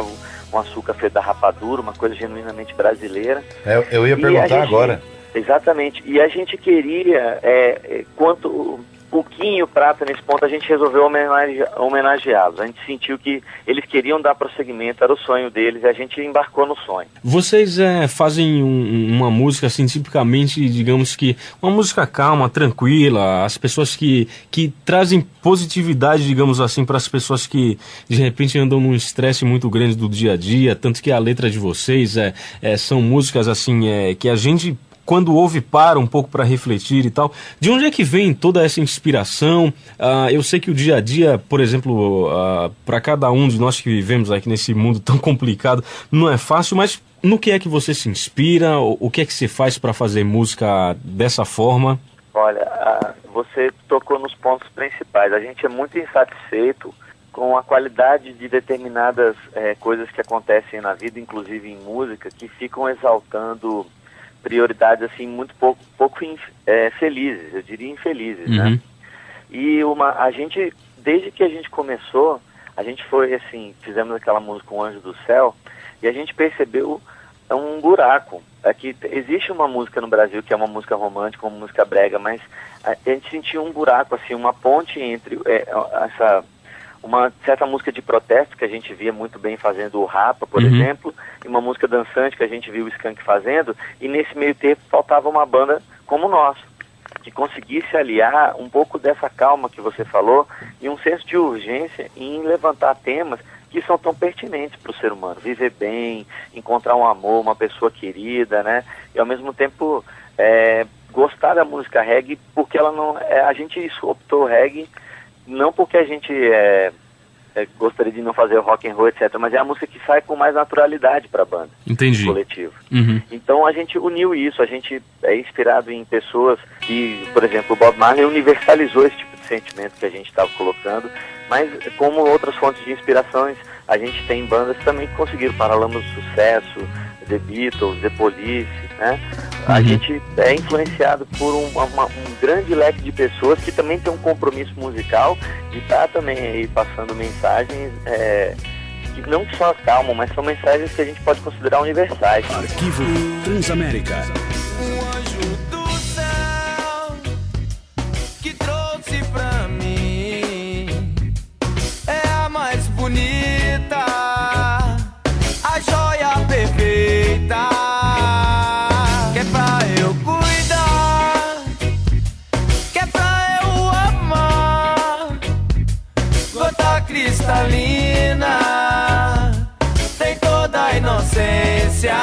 um açúcar feito da rapadura, uma coisa genuinamente brasileira. Eu ia perguntar agora. Exatamente. E a gente queria, quanto o Quinho e o Prata, nesse ponto, a gente resolveu homenageá-los. A gente sentiu que eles queriam dar prosseguimento, era o sonho deles, e a gente embarcou no sonho. Vocês fazem uma música, assim, tipicamente, digamos que, uma música calma, tranquila, as pessoas que trazem positividade, digamos assim, para as pessoas que, de repente, andam num estresse muito grande do dia a dia, tanto que a letra de vocês são músicas, assim, que a gente, quando ouve, para um pouco para refletir e tal. De onde é que vem toda essa inspiração? Eu sei que o dia a dia, por exemplo, para cada um de nós que vivemos aqui nesse mundo tão complicado, não é fácil, mas no que é que você se inspira? O que é que você faz para fazer música dessa forma? Olha, você tocou nos pontos principais. A gente é muito insatisfeito com a qualidade de determinadas coisas que acontecem na vida, inclusive em música, que ficam exaltando prioridades assim muito pouco felizes, eu diria infelizes, né? E a gente, desde que a gente começou, a gente foi assim, fizemos aquela música O Anjo do Céu, e a gente percebeu um buraco. Aqui existe uma música no Brasil que é uma música romântica, uma música brega, mas a gente sentiu um buraco, assim, uma ponte entre uma certa música de protesto que a gente via muito bem fazendo o Rapa, por exemplo, e uma música dançante que a gente viu o Skank fazendo, e nesse meio tempo faltava uma banda como nós, que conseguisse aliar um pouco dessa calma que você falou e um senso de urgência em levantar temas que são tão pertinentes para o ser humano. Viver bem, encontrar um amor, uma pessoa querida, né? E ao mesmo tempo gostar da música reggae, porque ela não... a gente optou reggae não porque a gente gostaria de não fazer rock and roll, etc., mas é a música que sai com mais naturalidade para a banda. Entendi. Coletivo. Então a gente uniu isso, a gente é inspirado em pessoas que, por exemplo, o Bob Marley universalizou esse tipo de sentimento que a gente estava colocando, mas como outras fontes de inspirações, a gente tem bandas também que conseguiram Paralamas do Sucesso, The Beatles, The Police, né? A gente é influenciado por um grande leque de pessoas que também tem um compromisso musical de estar também aí passando mensagens que não só acalmam, mas são mensagens que a gente pode considerar universais. Arquivo Transamérica. O anjo do céu que trouxe pra mim é a mais bonita, a joia perfeita. Que é pra eu cuidar, que é pra eu amar, gota cristalina, tem toda a inocência.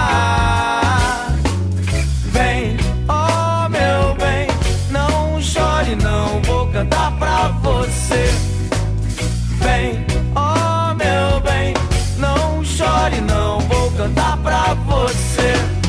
Vem, oh meu bem, não chore, não vou cantar pra você. Vem, oh meu bem, não chore, não vou cantar pra você.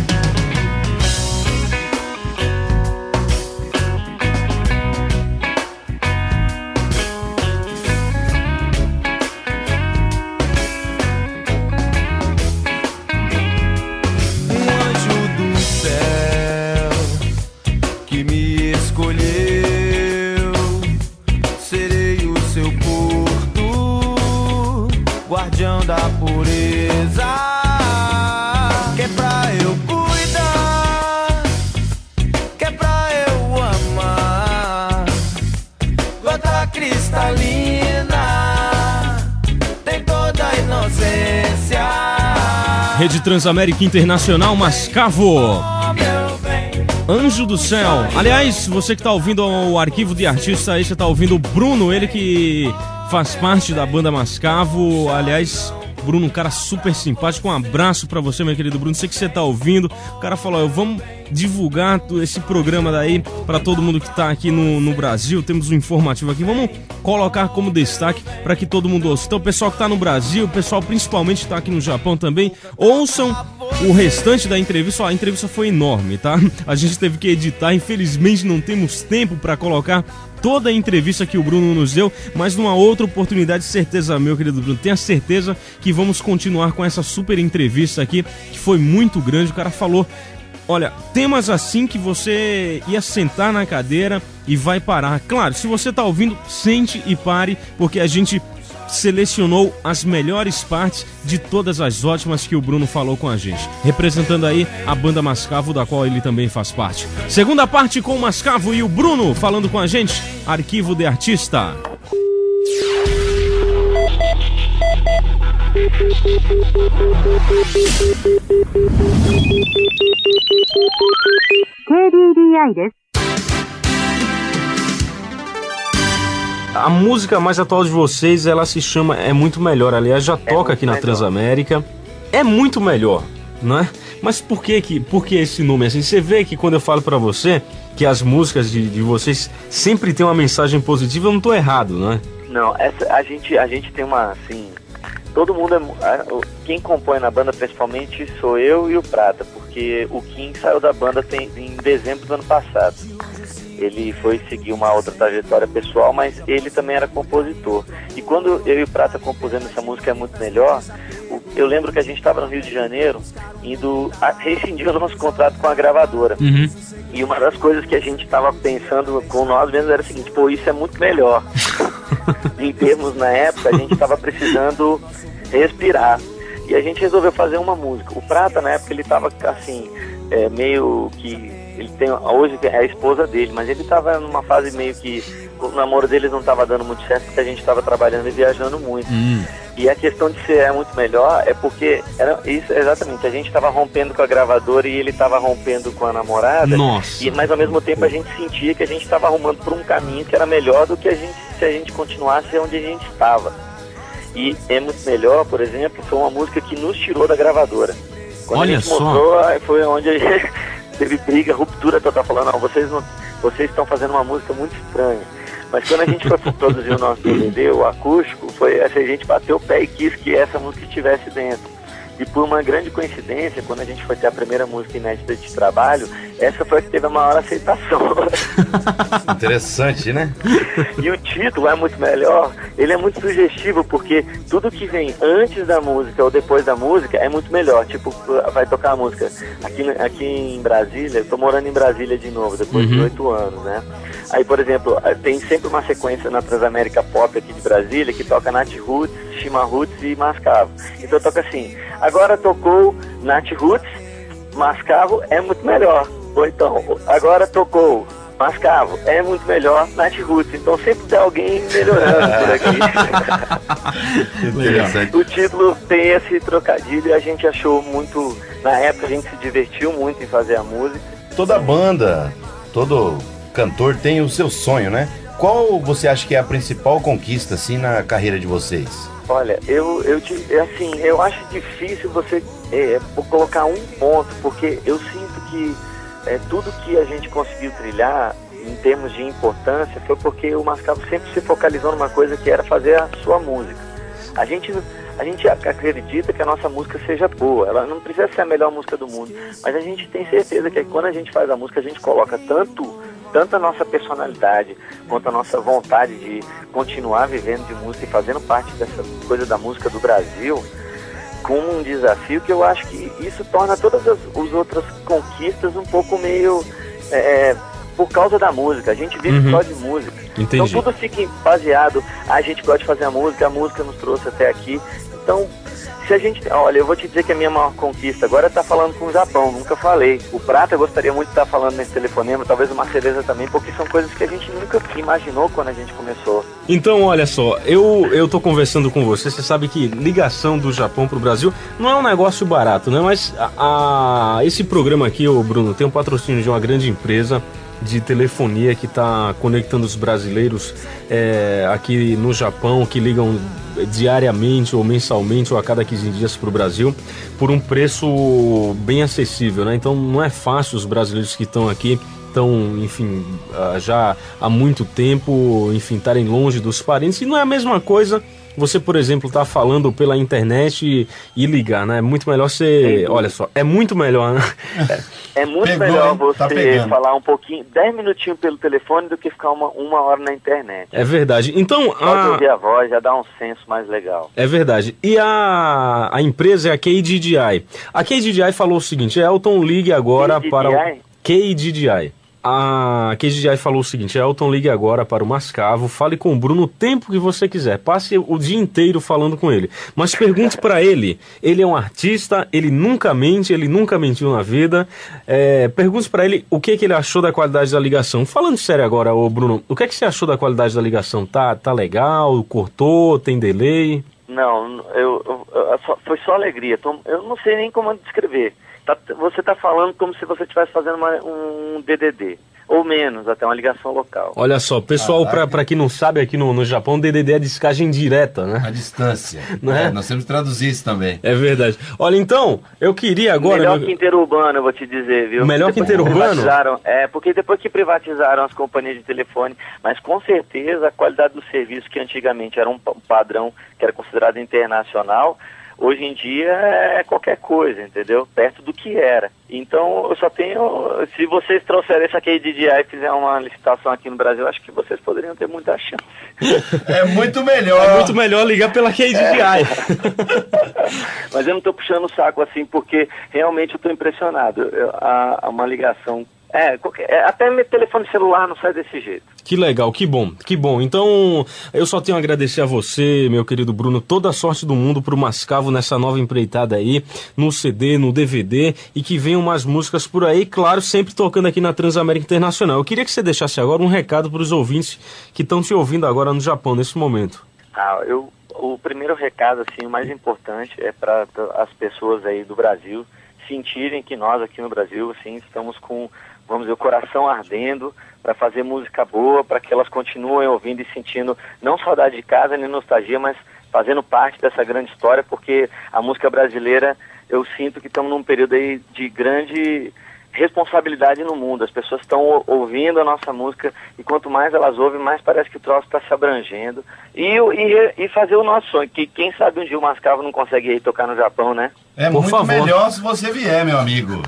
Guardião da pureza, que é pra eu cuidar, que é pra eu amar, gota cristalina, tem toda a inocência. Rede Transamérica Internacional, Mascavo. Anjo do Céu. Aliás, você que tá ouvindo o arquivo de artista aí, você tá ouvindo o Bruno, ele que faz parte da banda Mascavo. Aliás, Bruno, um cara super simpático. Um abraço pra você, meu querido Bruno. Sei que você tá ouvindo. O cara falou, vamos divulgar esse programa daí pra todo mundo que tá aqui no Brasil. Temos um informativo aqui. Vamos colocar como destaque pra que todo mundo ouça. Então, o pessoal que tá no Brasil, o pessoal principalmente que tá aqui no Japão também, ouçam o restante da entrevista. A entrevista foi enorme, tá? A gente teve que editar. Infelizmente, não temos tempo pra colocar toda a entrevista que o Bruno nos deu, mas numa outra oportunidade, certeza, meu querido Bruno, tenha certeza que vamos continuar com essa super entrevista aqui, que foi muito grande. O cara falou, olha, temas assim que você ia sentar na cadeira e vai parar. Claro, se você tá ouvindo, sente e pare, porque a gente selecionou as melhores partes de todas as ótimas que o Bruno falou com a gente, representando aí a banda Mascavo, da qual ele também faz parte. Segunda parte com o Mascavo e o Bruno falando com a gente, Arquivo de Artista. A música mais atual de vocês, ela se chama É Muito Melhor. Aliás, já toca aqui na Transamérica. É muito melhor, não é? Mas por que esse nome assim? Você vê que quando eu falo pra você que as músicas de vocês sempre tem uma mensagem positiva, eu não tô errado, não é? Não, a gente tem uma, assim... Todo mundo quem compõe na banda principalmente sou eu e o Prata, porque o Kim saiu da banda em dezembro do ano passado. Ele foi seguir uma outra trajetória pessoal, mas ele também era compositor. E quando eu e o Prata compusemos essa música É Muito Melhor, eu lembro que a gente estava no Rio de Janeiro indo rescindir o nosso contrato com a gravadora. Uhum. E uma das coisas que a gente estava pensando com nós mesmos era o seguinte: pô, isso é muito melhor. Em termos, na época, a gente estava precisando respirar. E a gente resolveu fazer uma música. O Prata, na época, ele estava assim, meio que... Ele tem, hoje é a esposa dele, mas ele estava numa fase meio que o namoro deles não estava dando muito certo, porque a gente estava trabalhando e viajando muito. E a questão de ser É Muito Melhor é porque era isso, exatamente, a gente estava rompendo com a gravadora e ele estava rompendo com a namorada. Nossa. Mas ao mesmo tempo a gente sentia que a gente estava arrumando por um caminho que era melhor do que se a gente continuasse onde a gente estava. E É Muito Melhor, por exemplo, foi uma música que nos tirou da gravadora. Quando Olha a gente só. mostrou, foi onde a gente teve briga, ruptura total, falando, não, vocês estão fazendo uma música muito estranha. Mas quando a gente foi produzir o nosso DVD, o acústico, foi assim, a gente bateu o pé e quis que essa música estivesse dentro. E por uma grande coincidência, quando a gente foi ter a primeira música inédita de trabalho, essa foi a que teve a maior aceitação. Interessante, né? E o título É Muito Melhor, ele é muito sugestivo, porque tudo que vem antes da música ou depois da música é muito melhor. Tipo, vai tocar a música aqui em Brasília, eu tô morando em Brasília de novo, depois de 8 anos, né? Aí, por exemplo, tem sempre uma sequência na Transamérica Pop aqui de Brasília que toca Nath Roots, Shima Roots e Mascavo. Então toca assim: agora tocou Nath Roots, Mascavo É Muito Melhor. Ou então, agora tocou Mascavo É Muito Melhor, Nath Roots. Então sempre tem alguém melhorando por aqui. O título tem esse trocadilho e a gente achou muito... Na época a gente se divertiu muito em fazer a música. Toda banda, todo cantor tem o seu sonho, né? Qual você acha que é a principal conquista, assim, na carreira de vocês? Olha, eu acho difícil você colocar um ponto, porque eu sinto que tudo que a gente conseguiu trilhar em termos de importância foi porque o Mascavo sempre se focalizou numa coisa que era fazer a sua música. A gente acredita que a nossa música seja boa, ela não precisa ser a melhor música do mundo, mas a gente tem certeza que quando a gente faz a música, a gente coloca tanto a nossa personalidade quanto a nossa vontade de continuar vivendo de música e fazendo parte dessa coisa da música do Brasil como um desafio, que eu acho que isso torna todas as outras conquistas um pouco meio por causa da música. A gente vive só de música. Entendi. Então tudo fica baseado, a gente gosta de fazer a música nos trouxe até aqui. Então, se a gente... Olha, eu vou te dizer que a minha maior conquista agora é estar falando com o Japão, nunca falei. O Prata eu gostaria muito de estar falando nesse telefonema, talvez o Marceleza também, porque são coisas que a gente nunca imaginou quando a gente começou. Então, olha só, eu tô conversando com você sabe que ligação do Japão pro Brasil não é um negócio barato, né? Mas esse programa aqui, ô Bruno, tem um patrocínio de uma grande empresa de telefonia que está conectando os brasileiros aqui no Japão, que ligam diariamente ou mensalmente ou a cada 15 dias para o Brasil por um preço bem acessível, né? Então não é fácil os brasileiros que estão aqui, enfim, já há muito tempo, enfim, estarem longe dos parentes, e não é a mesma coisa você, por exemplo, tá falando pela internet e ligar, né? É muito melhor você... Olha só, é muito melhor, né? É muito melhor você falar um pouquinho, 10 minutinhos pelo telefone do que ficar uma hora na internet. É verdade. Então... Pode ouvir a voz, já dá um senso mais legal. É verdade. E a empresa é a KDDI. A KDDI falou o seguinte: Elton, ligue agora para o KDDI. A KGI falou o seguinte: Elton, ligue agora para o Mascavo, fale com o Bruno o tempo que você quiser, passe o dia inteiro falando com ele, mas pergunte para ele é um artista, ele nunca mente, ele nunca mentiu na vida, pergunte para ele o que ele achou da qualidade da ligação. Falando sério agora, ô Bruno, o que é que você achou da qualidade da ligação? Tá legal? Cortou? Tem delay? Não, foi só alegria. Eu não sei nem como descrever. Você está falando como se você estivesse fazendo um DDD. Ou menos, até uma ligação local. Olha só, pessoal, para quem não sabe, aqui no Japão, DDD é descagem direta, né? A distância. Não é? Nós temos que traduzir isso também. É verdade. Olha, então, eu queria agora... Melhor que interurbano, eu vou te dizer, viu? Melhor que interurbano? Porque depois que privatizaram as companhias de telefone, mas com certeza a qualidade do serviço, que antigamente era um padrão que era considerado internacional, hoje em dia é qualquer coisa, entendeu? Perto do que era. Então, eu só tenho... Se vocês trouxerem essa KDDI e fizer uma licitação aqui no Brasil, acho que vocês poderiam ter muita chance. É muito melhor. É muito melhor ligar pela KDDI. Mas eu não estou puxando o saco assim, porque realmente eu estou impressionado. Uma ligação... até meu telefone celular não sai desse jeito. Que legal, que bom. Então, eu só tenho a agradecer a você, meu querido Bruno, toda a sorte do mundo pro Mascavo nessa nova empreitada aí, no CD, no DVD, e que venham mais músicas por aí, claro, sempre tocando aqui na Transamérica Internacional. Eu queria que você deixasse agora um recado para os ouvintes que estão te ouvindo agora no Japão, nesse momento. O primeiro recado, assim, o mais importante é para as pessoas aí do Brasil sentirem que nós aqui no Brasil, assim, estamos com, vamos dizer, o coração ardendo para fazer música boa, para que elas continuem ouvindo e sentindo não saudade de casa nem nostalgia, mas fazendo parte dessa grande história, porque a música brasileira, eu sinto que estamos num período aí de grande responsabilidade no mundo. As pessoas estão ouvindo a nossa música e quanto mais elas ouvem, mais parece que o troço está se abrangendo. E fazer o nosso sonho, que quem sabe um dia o Mascavo não consegue ir tocar no Japão, né? É Por muito favor. Melhor se você vier, meu amigo.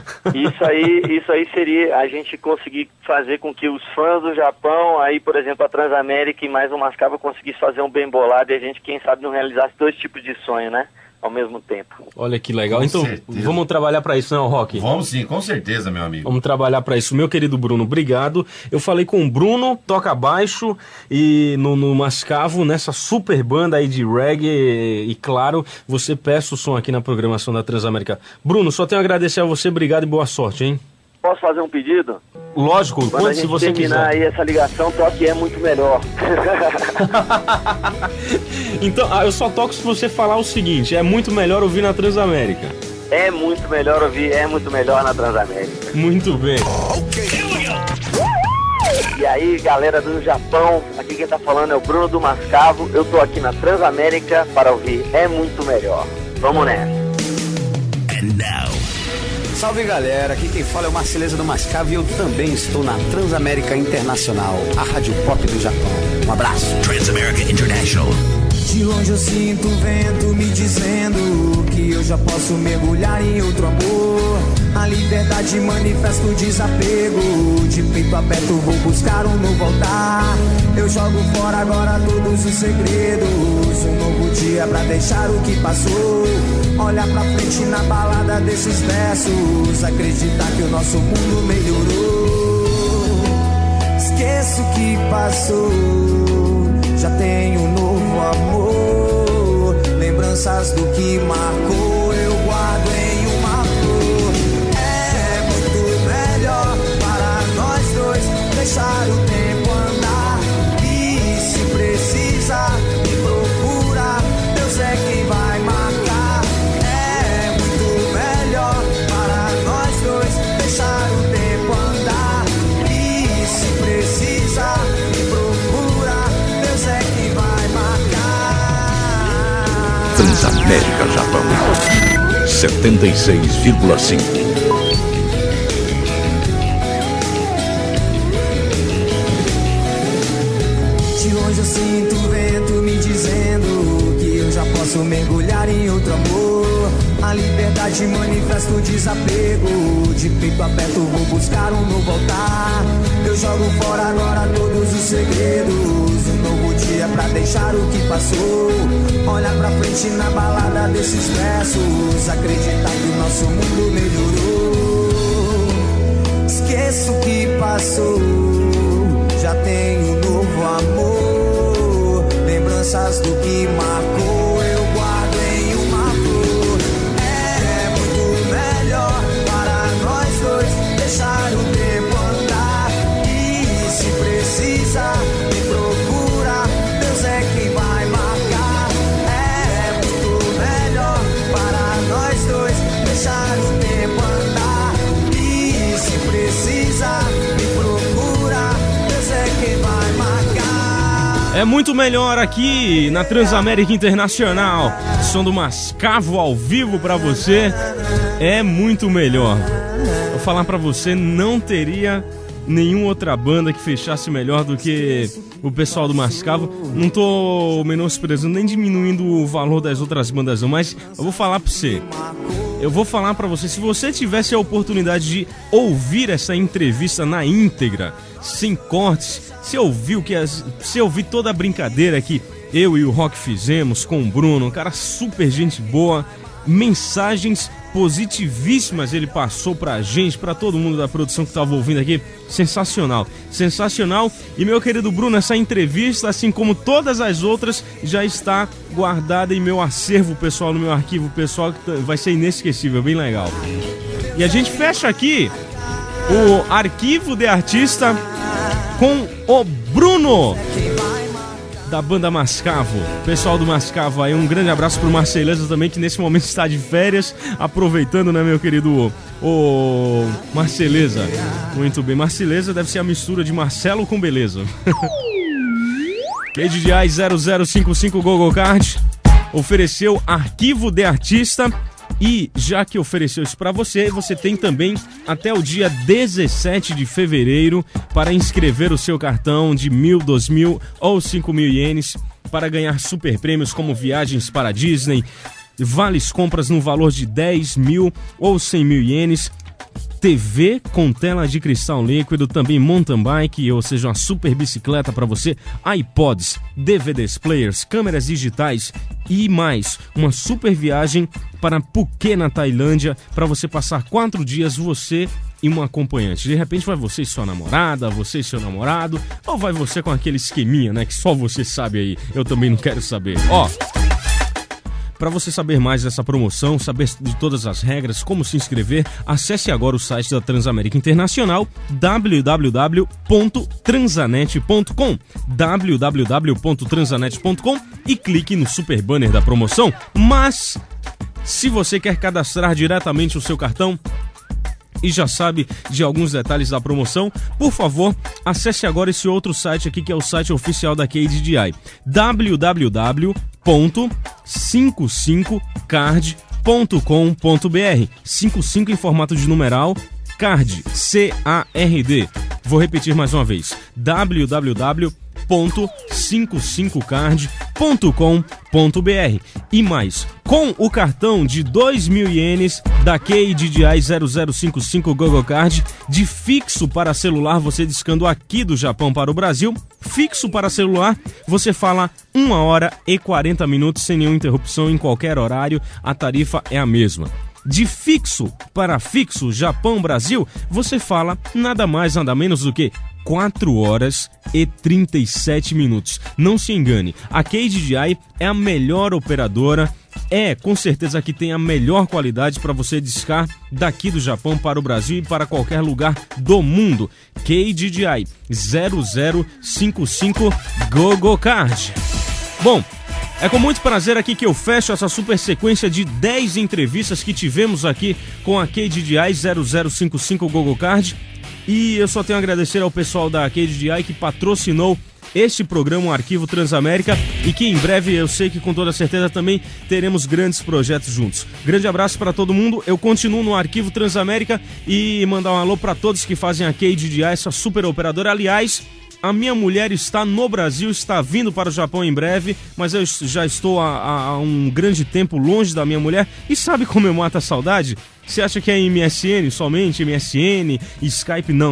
Isso aí seria a gente conseguir fazer com que os fãs do Japão, aí, por exemplo, a Transamérica e mais o Mascavo conseguisse fazer um bem bolado e a gente, quem sabe, não realizasse dois tipos de sonho, né? Ao mesmo tempo. Olha que legal. Então, vamos trabalhar para isso, não, Rock? Vamos sim, com certeza, meu amigo. Vamos trabalhar para isso. Meu querido Bruno, obrigado. Eu falei com o Bruno, toca baixo, e no Mascavo, nessa super banda aí de reggae, e claro, você peça o som aqui na programação da Transamérica. Bruno, só tenho a agradecer a você, obrigado e boa sorte, hein? Posso fazer um pedido? Lógico, quando se você quiser. Quando aí essa ligação, toque É Muito Melhor. Então, eu só toco se você falar o seguinte: é muito melhor ouvir na Transamérica. É muito melhor ouvir, é muito melhor na Transamérica. Muito bem. E aí, galera do Japão, aqui quem tá falando é o Bruno do Mascavo. Eu tô aqui na Transamérica para ouvir É Muito Melhor. Vamos nessa. And now. Salve galera, aqui quem fala é o Marceleza do Mascavo e eu também estou na Transamérica Internacional, a rádio pop do Japão. Um abraço. Transamérica International. De longe eu sinto o vento me dizendo que eu já posso mergulhar em outro amor. A liberdade manifesta o desapego, de peito aberto vou buscar um novo altar. Eu jogo fora agora todos os segredos, um novo dia pra deixar o que passou. Olhar pra frente na balada desses versos, acreditar que o nosso mundo melhorou. Esqueço o que passou, já tenho um novo amor. Lembranças do que marcou, eu guardo em uma flor. É muito melhor para nós dois deixar o tempo andar. E se precisar me procurar, Deus é quem vai marcar. É muito melhor para nós dois deixar o tempo andar. E se precisar me procurar, Deus é quem vai marcar. Transamérica Japão 76,5. De longe eu sinto o vento me dizendo que eu já posso mergulhar em outro amor. A liberdade manifesta o desapego, de peito aberto vou buscar um novo altar. Eu jogo fora agora todos os segredos, um novo dia pra deixar o que passou. Olhar pra frente na balada desses versos, acreditar que o nosso mundo melhorou. Esqueço o que passou, deixar o tempo andar. E se precisar me procurar, Deus é quem vai marcar. É muito melhor aqui na Transamérica Internacional. Som do Mascavo ao vivo pra você. É muito melhor. Vou falar pra você, não teria nenhuma outra banda que fechasse melhor do que o pessoal do Mascavo. Não tô menosprezando nem diminuindo o valor das outras bandas não, mas eu vou falar pra você. Eu vou falar pra você, se você tivesse a oportunidade de ouvir essa entrevista na íntegra, sem cortes, você ouviu toda a brincadeira que eu e o Rock fizemos com o Bruno, um cara super gente boa, mensagens positivíssimas ele passou pra gente, pra todo mundo da produção que tava ouvindo aqui. Sensacional, sensacional. E meu querido Bruno, essa entrevista, assim como todas as outras, já está guardada em meu acervo pessoal, no meu arquivo pessoal, que vai ser inesquecível, bem legal. E a gente fecha aqui o arquivo de artista com o Bruno da banda Mascavo. Pessoal do Mascavo aí, um grande abraço pro Marceleza também, que nesse momento está de férias, aproveitando, né, meu querido o Marceleza. Muito bem, Marceleza deve ser a mistura de Marcelo com beleza. KDDI 0055 Google Card ofereceu arquivo de artista. E já que ofereceu isso para você, você tem também até o dia 17 de fevereiro para inscrever o seu cartão de 1.000, 2.000 ou 5.000 ienes para ganhar super prêmios como viagens para a Disney, vales compras no valor de 10.000 ou 100.000 ienes, TV com tela de cristal líquido, também mountain bike, ou seja, uma super bicicleta para você, iPods, DVDs players, câmeras digitais e mais, uma super viagem para Phuket, na Tailândia, para você passar 4 dias, você e um acompanhante. De repente vai você e sua namorada, você e seu namorado, ou vai você com aquele esqueminha, né, que só você sabe aí, eu também não quero saber. Ó, para você saber mais dessa promoção, saber de todas as regras, como se inscrever, acesse agora o site da Transamérica Internacional, www.transanet.com, www.transanet.com, e clique no super banner da promoção. Mas, se você quer cadastrar diretamente o seu cartão e já sabe de alguns detalhes da promoção, por favor, acesse agora esse outro site aqui, que é o site oficial da KDDI, www.55card.com.br, 55 em formato de numeral, card, C-A-R-D. Vou repetir mais uma vez, www.55card.com.br. E mais, com o cartão de 2.000 ienes da KDDI 0055 Google Card, de fixo para celular, você discando aqui do Japão para o Brasil, fixo para celular, você fala 1 hora e 40 minutos sem nenhuma interrupção em qualquer horário, a tarifa é a mesma. De fixo para fixo Japão-Brasil, você fala nada mais, nada menos do que 4 horas e 37 minutos. Não se engane, a KDDI é a melhor operadora, com certeza que tem a melhor qualidade para você discar daqui do Japão para o Brasil e para qualquer lugar do mundo. KDDI 0055 Google Card. Bom, é com muito prazer aqui que eu fecho essa super sequência de 10 entrevistas que tivemos aqui com a KDDI 0055 Google Card. E eu só tenho a agradecer ao pessoal da KDDI que patrocinou este programa, o Arquivo Transamérica, e que em breve, eu sei que com toda certeza também teremos grandes projetos juntos. Grande abraço para todo mundo, eu continuo no Arquivo Transamérica e mandar um alô para todos que fazem a KDDI, essa super operadora. Aliás, a minha mulher está no Brasil, está vindo para o Japão em breve, mas eu já estou há um grande tempo longe da minha mulher. E sabe como eu mato a saudade? Você acha que é MSN somente? MSN, Skype? Não.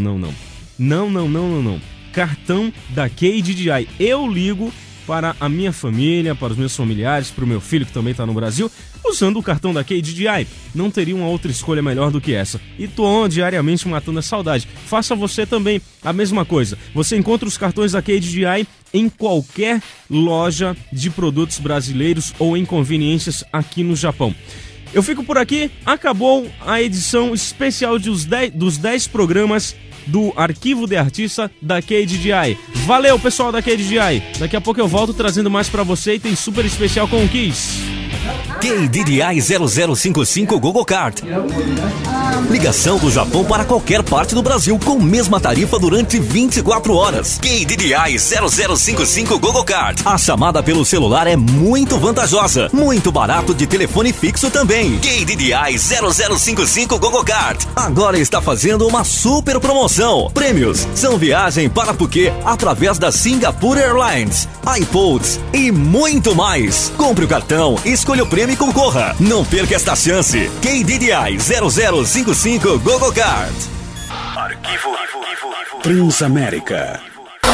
Não. Cartão da KDDI. Eu ligo para a minha família, para os meus familiares, para o meu filho que também está no Brasil, usando o cartão da KDDI. Não teria uma outra escolha melhor do que essa. E tô diariamente matando a saudade. Faça você também a mesma coisa. Você encontra os cartões da KDDI em qualquer loja de produtos brasileiros ou em conveniências aqui no Japão. Eu fico por aqui. Acabou a edição especial dos 10 programas do Arquivo de Artista da KDDI. Valeu, pessoal da KDDI. Daqui a pouco eu volto trazendo mais pra você e tem super especial com o Kiss. KDDI 0055 Google Kart. Ligação do Japão para qualquer parte do Brasil com mesma tarifa durante 24 horas. KDDI 0055 Google Kart. A chamada pelo celular é muito vantajosa. Muito barato de telefone fixo também. KDDI 0055 Google Kart. Agora está fazendo uma super promoção. Prêmios são viagem para Phuket através da Singapore Airlines, iPods e muito mais. Compre o cartão, escolha o prêmio e concorra. Não perca esta chance. KDDI 0055 Google Kart. Arquivo Transamérica.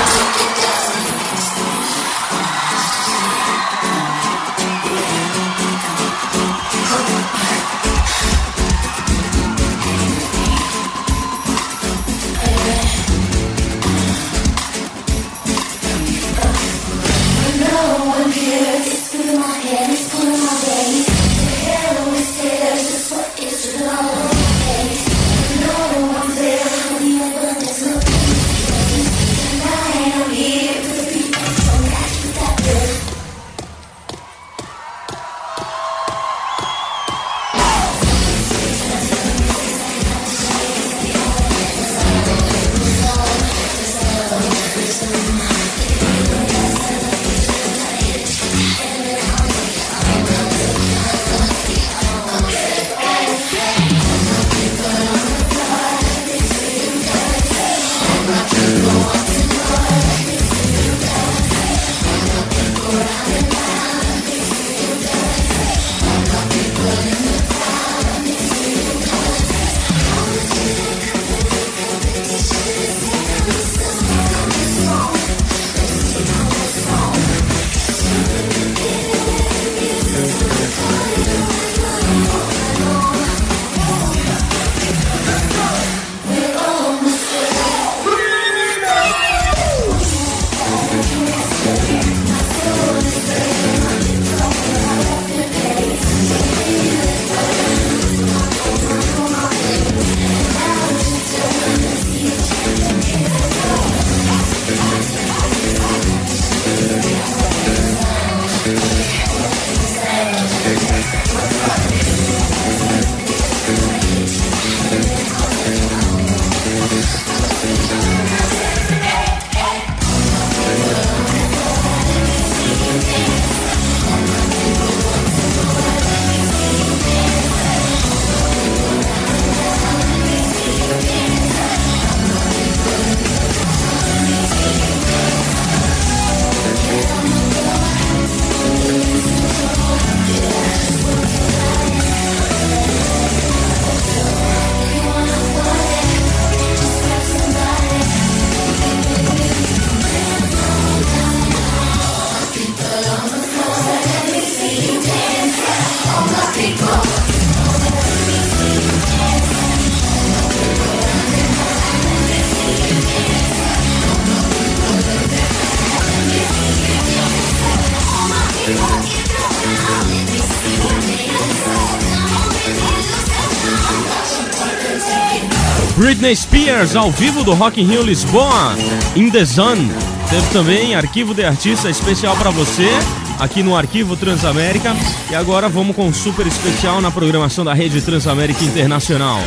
Britney Spears ao vivo do Rock in Rio Lisboa, In The Zone. Teve também Arquivo de Artista especial para você, aqui no Arquivo Transamérica. E agora vamos com um super especial na programação da Rede Transamérica Internacional.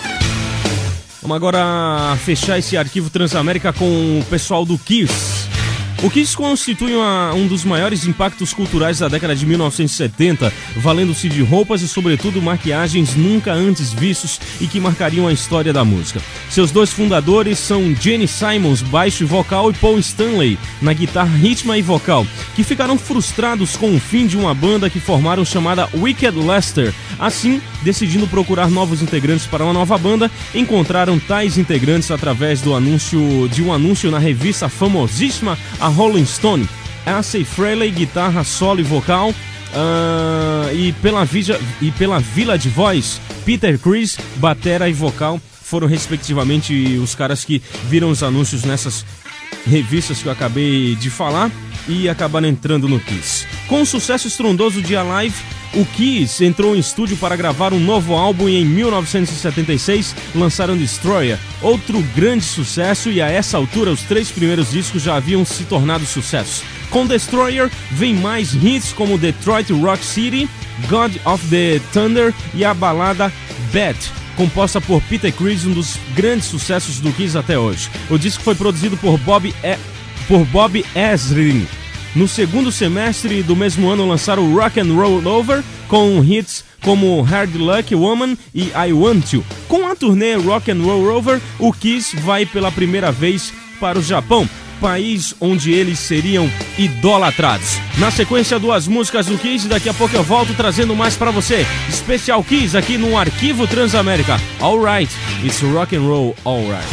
Vamos agora fechar esse Arquivo Transamérica com o pessoal do Kiss. O Kiss constitui um dos maiores impactos culturais da década de 1970, valendo-se de roupas e, sobretudo, maquiagens nunca antes vistos e que marcariam a história da música. Seus dois fundadores são Gene Simons, baixo e vocal, e Paul Stanley, na guitarra, ritmo e vocal, que ficaram frustrados com o fim de uma banda que formaram chamada Wicked Lester. Assim, decidindo procurar novos integrantes para uma nova banda, encontraram tais integrantes através de um anúncio na revista famosíssima a Rolling Stone. Ace Frehley, guitarra, solo e vocal, e pela Village Voice, Peter Criss, batera e vocal, foram respectivamente os caras que viram os anúncios nessas revistas que eu acabei de falar e acabaram entrando no Kiss. Com o sucesso estrondoso de Alive, o Kiss entrou em estúdio para gravar um novo álbum e em 1976 lançaram Destroyer, outro grande sucesso, e a essa altura os 3 primeiros discos já haviam se tornado sucessos. Com Destroyer vem mais hits como Detroit Rock City, God of the Thunder e a balada Bad, composta por Peter Criss, um dos grandes sucessos do Kiss até hoje. O disco foi produzido por Bob Ezrin. No segundo semestre do mesmo ano lançaram o Rock and Roll Over, com hits como Hard Luck Woman e I Want You. Com a turnê Rock and Roll Over, o Kiss vai pela primeira vez para o Japão, país onde eles seriam idolatrados. Na sequência, 2 músicas do Kiss, daqui a pouco eu volto trazendo mais pra você. Especial Kiss aqui no Arquivo Transamérica. Alright, it's rock and roll, alright.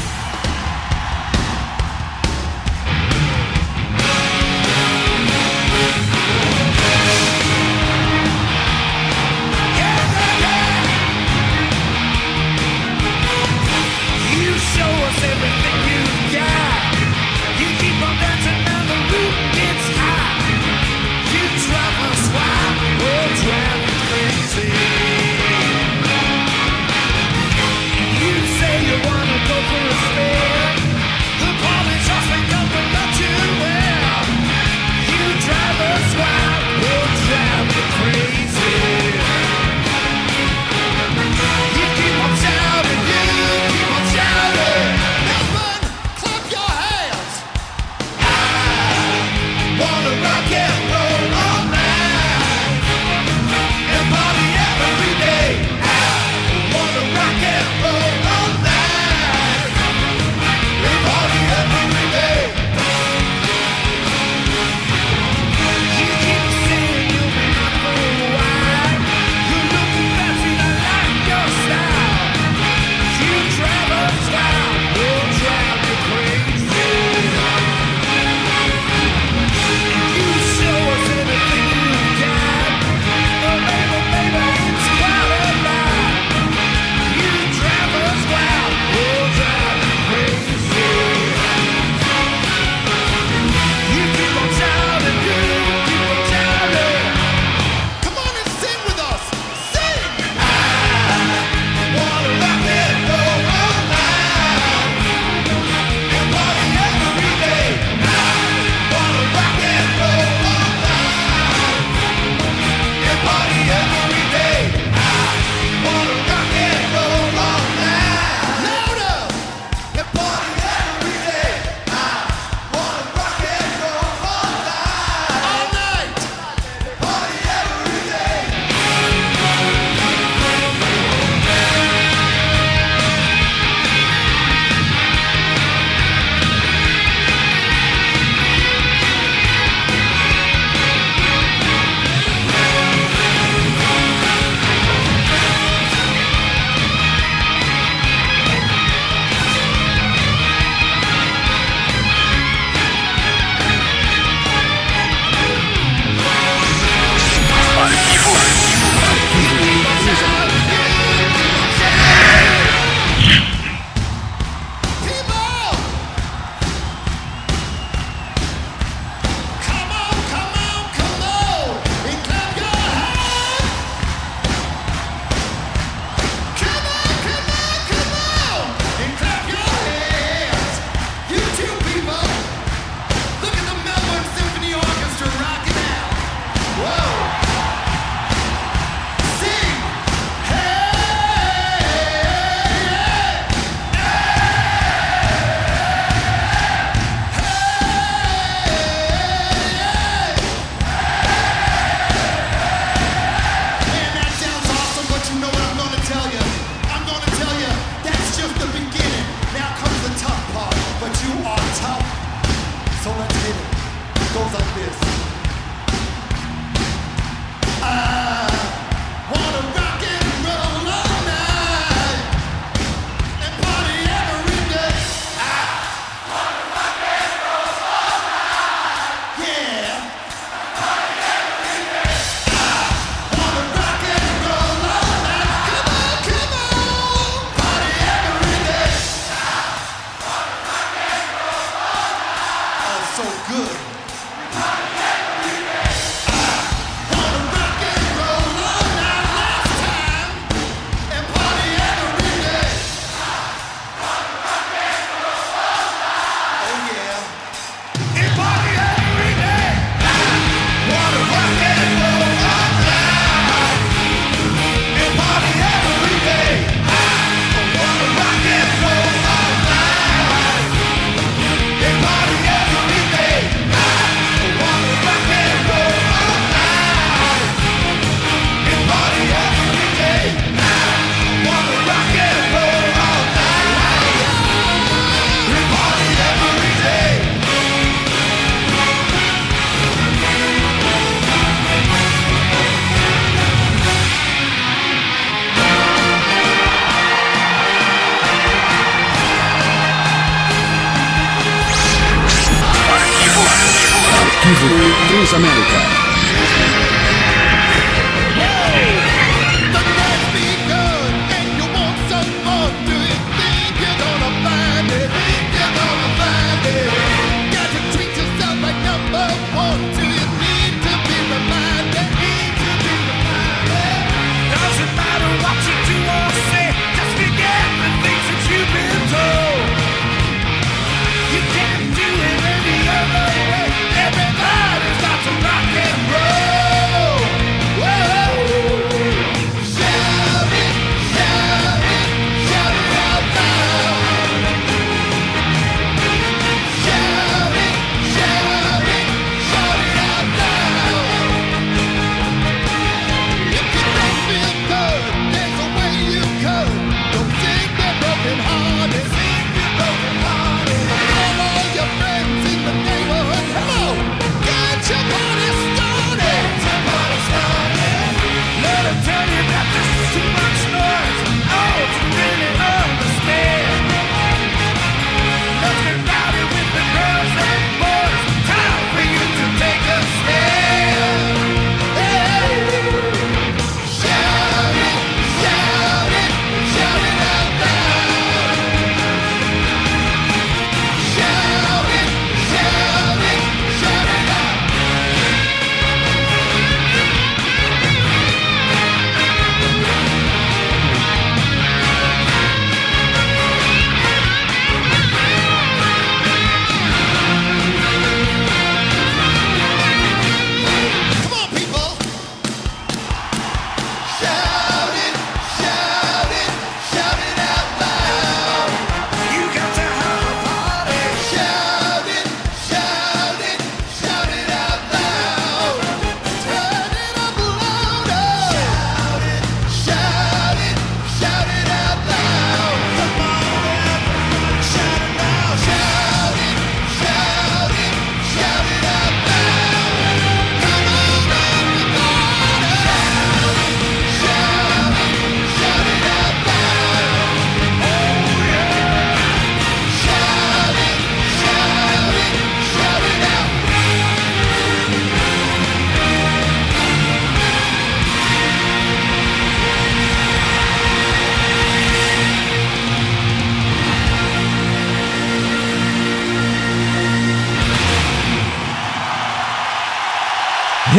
You say you wanna go for a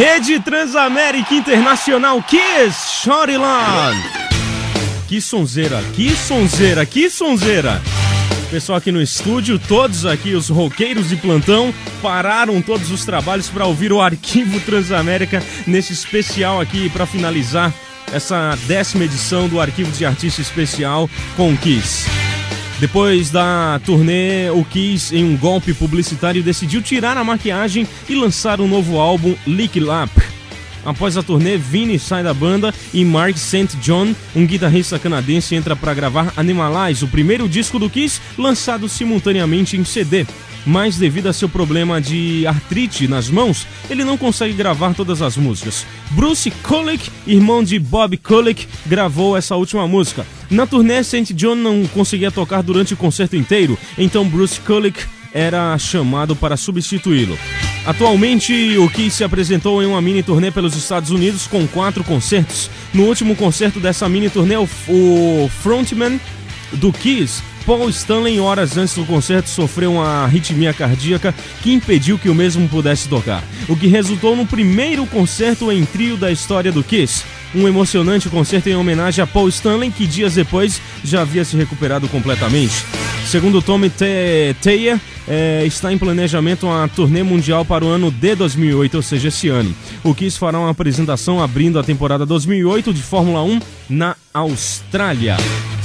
Rede Transamérica Internacional Kiss, Shortyland. Que sonzeira, que sonzeira, que sonzeira. Pessoal aqui no estúdio, todos aqui, os roqueiros de plantão, pararam todos os trabalhos para ouvir o Arquivo Transamérica nesse especial aqui para finalizar essa 10ª edição do Arquivo de Artista Especial com o Kiss. Depois da turnê, o Kiss, em um golpe publicitário, decidiu tirar a maquiagem e lançar um novo álbum, Lick Lap. Após a turnê, Vinnie sai da banda e Mark St. John, um guitarrista canadense, entra para gravar Animalize, o primeiro disco do Kiss, lançado simultaneamente em CD. Mas devido a seu problema de artrite nas mãos, ele não consegue gravar todas as músicas. Bruce Kulick, irmão de Bob Kulick, gravou essa última música. Na turnê, St. John não conseguia tocar durante o concerto inteiro, então Bruce Kulick era chamado para substituí-lo. Atualmente, o Kiss se apresentou em uma mini turnê pelos Estados Unidos com 4 concertos. No último concerto dessa mini turnê, o frontman do Kiss, Paul Stanley, horas antes do concerto, sofreu uma arritmia cardíaca que impediu que o mesmo pudesse tocar, o que resultou no primeiro concerto em trio da história do Kiss. Um emocionante concerto em homenagem a Paul Stanley, que dias depois já havia se recuperado completamente. Segundo Tommy Thayer, está em planejamento uma turnê mundial para o ano de 2008, ou seja, esse ano. O Kiss fará uma apresentação abrindo a temporada 2008 de Fórmula 1 na Austrália.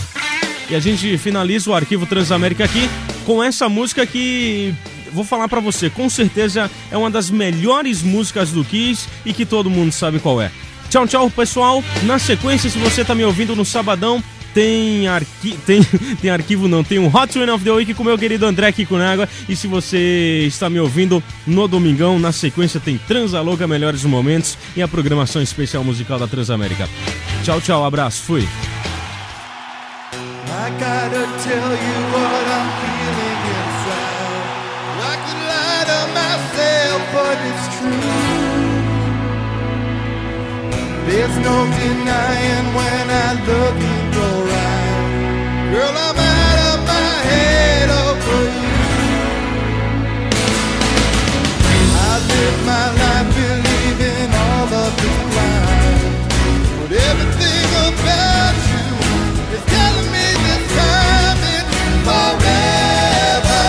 E a gente finaliza o Arquivo Transamérica aqui com essa música que, vou falar pra você, com certeza é uma das melhores músicas do Kiss e que todo mundo sabe qual é. Tchau, tchau, pessoal. Na sequência, se você tá me ouvindo no sabadão, tem arquivo não, tem um Hot One of the Week com o meu querido André Kikunaga. E se você está me ouvindo no domingão, na sequência tem Transa Louca, Melhores Momentos e a programação especial musical da Transamérica. Tchau, tchau, abraço, fui. I gotta tell you what I'm feeling inside. I could lie to myself, but it's true. There's no denying when I look in your eyes. Girl, I'm out of my head over you. I live my life believing all of this blind, but everything about you is telling me this time it's forever.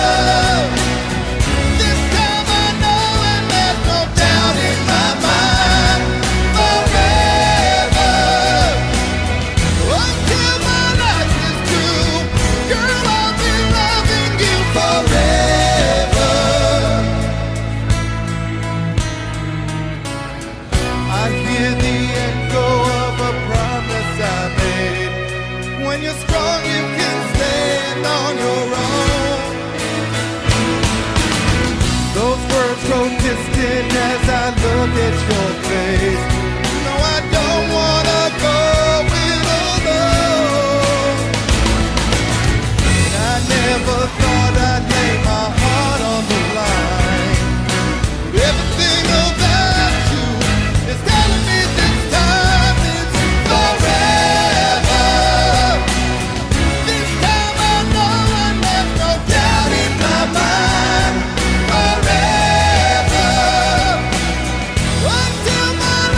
This time I know and there's no doubt in my mind. Forever. Until my life is through, girl, I'll be loving you forever. I hear the echo of a promise I made. When you're strong, you can stand on your own. Those words grow distant as I look at your face. No, I don't wanna go it alone. I never thought I'd lay my heart on the line. But everything about you is telling me this time it's forever. This time I know and there's no doubt in my mind. Forever. Until my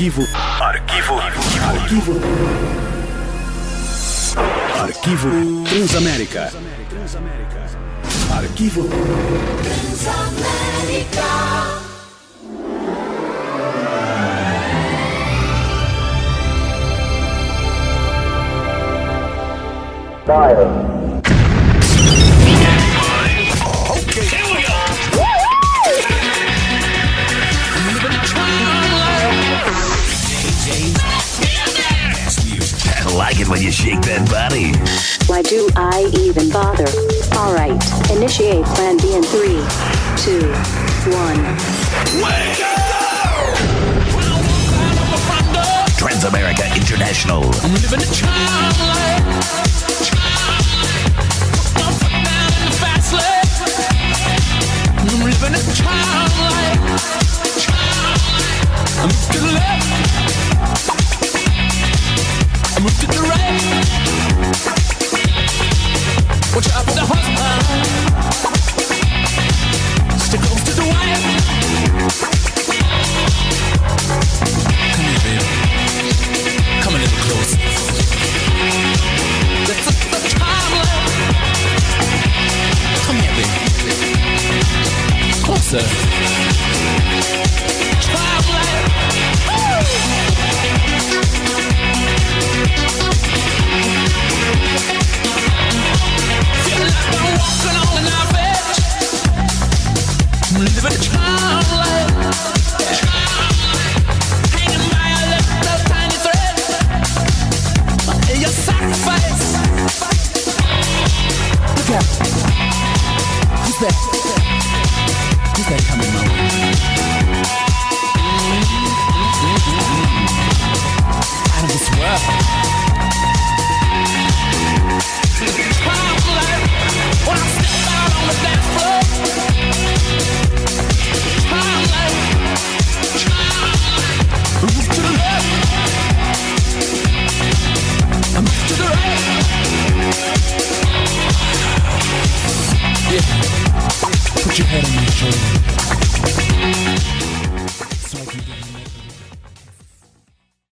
Arquivo Transamérica. Arquivo Transamérica. Okay, here we go. I like it when you shake that body. Why do I even bother? All right, initiate plan B in 3, 2, 1. Wake up! Transamerica International. I'm living the child.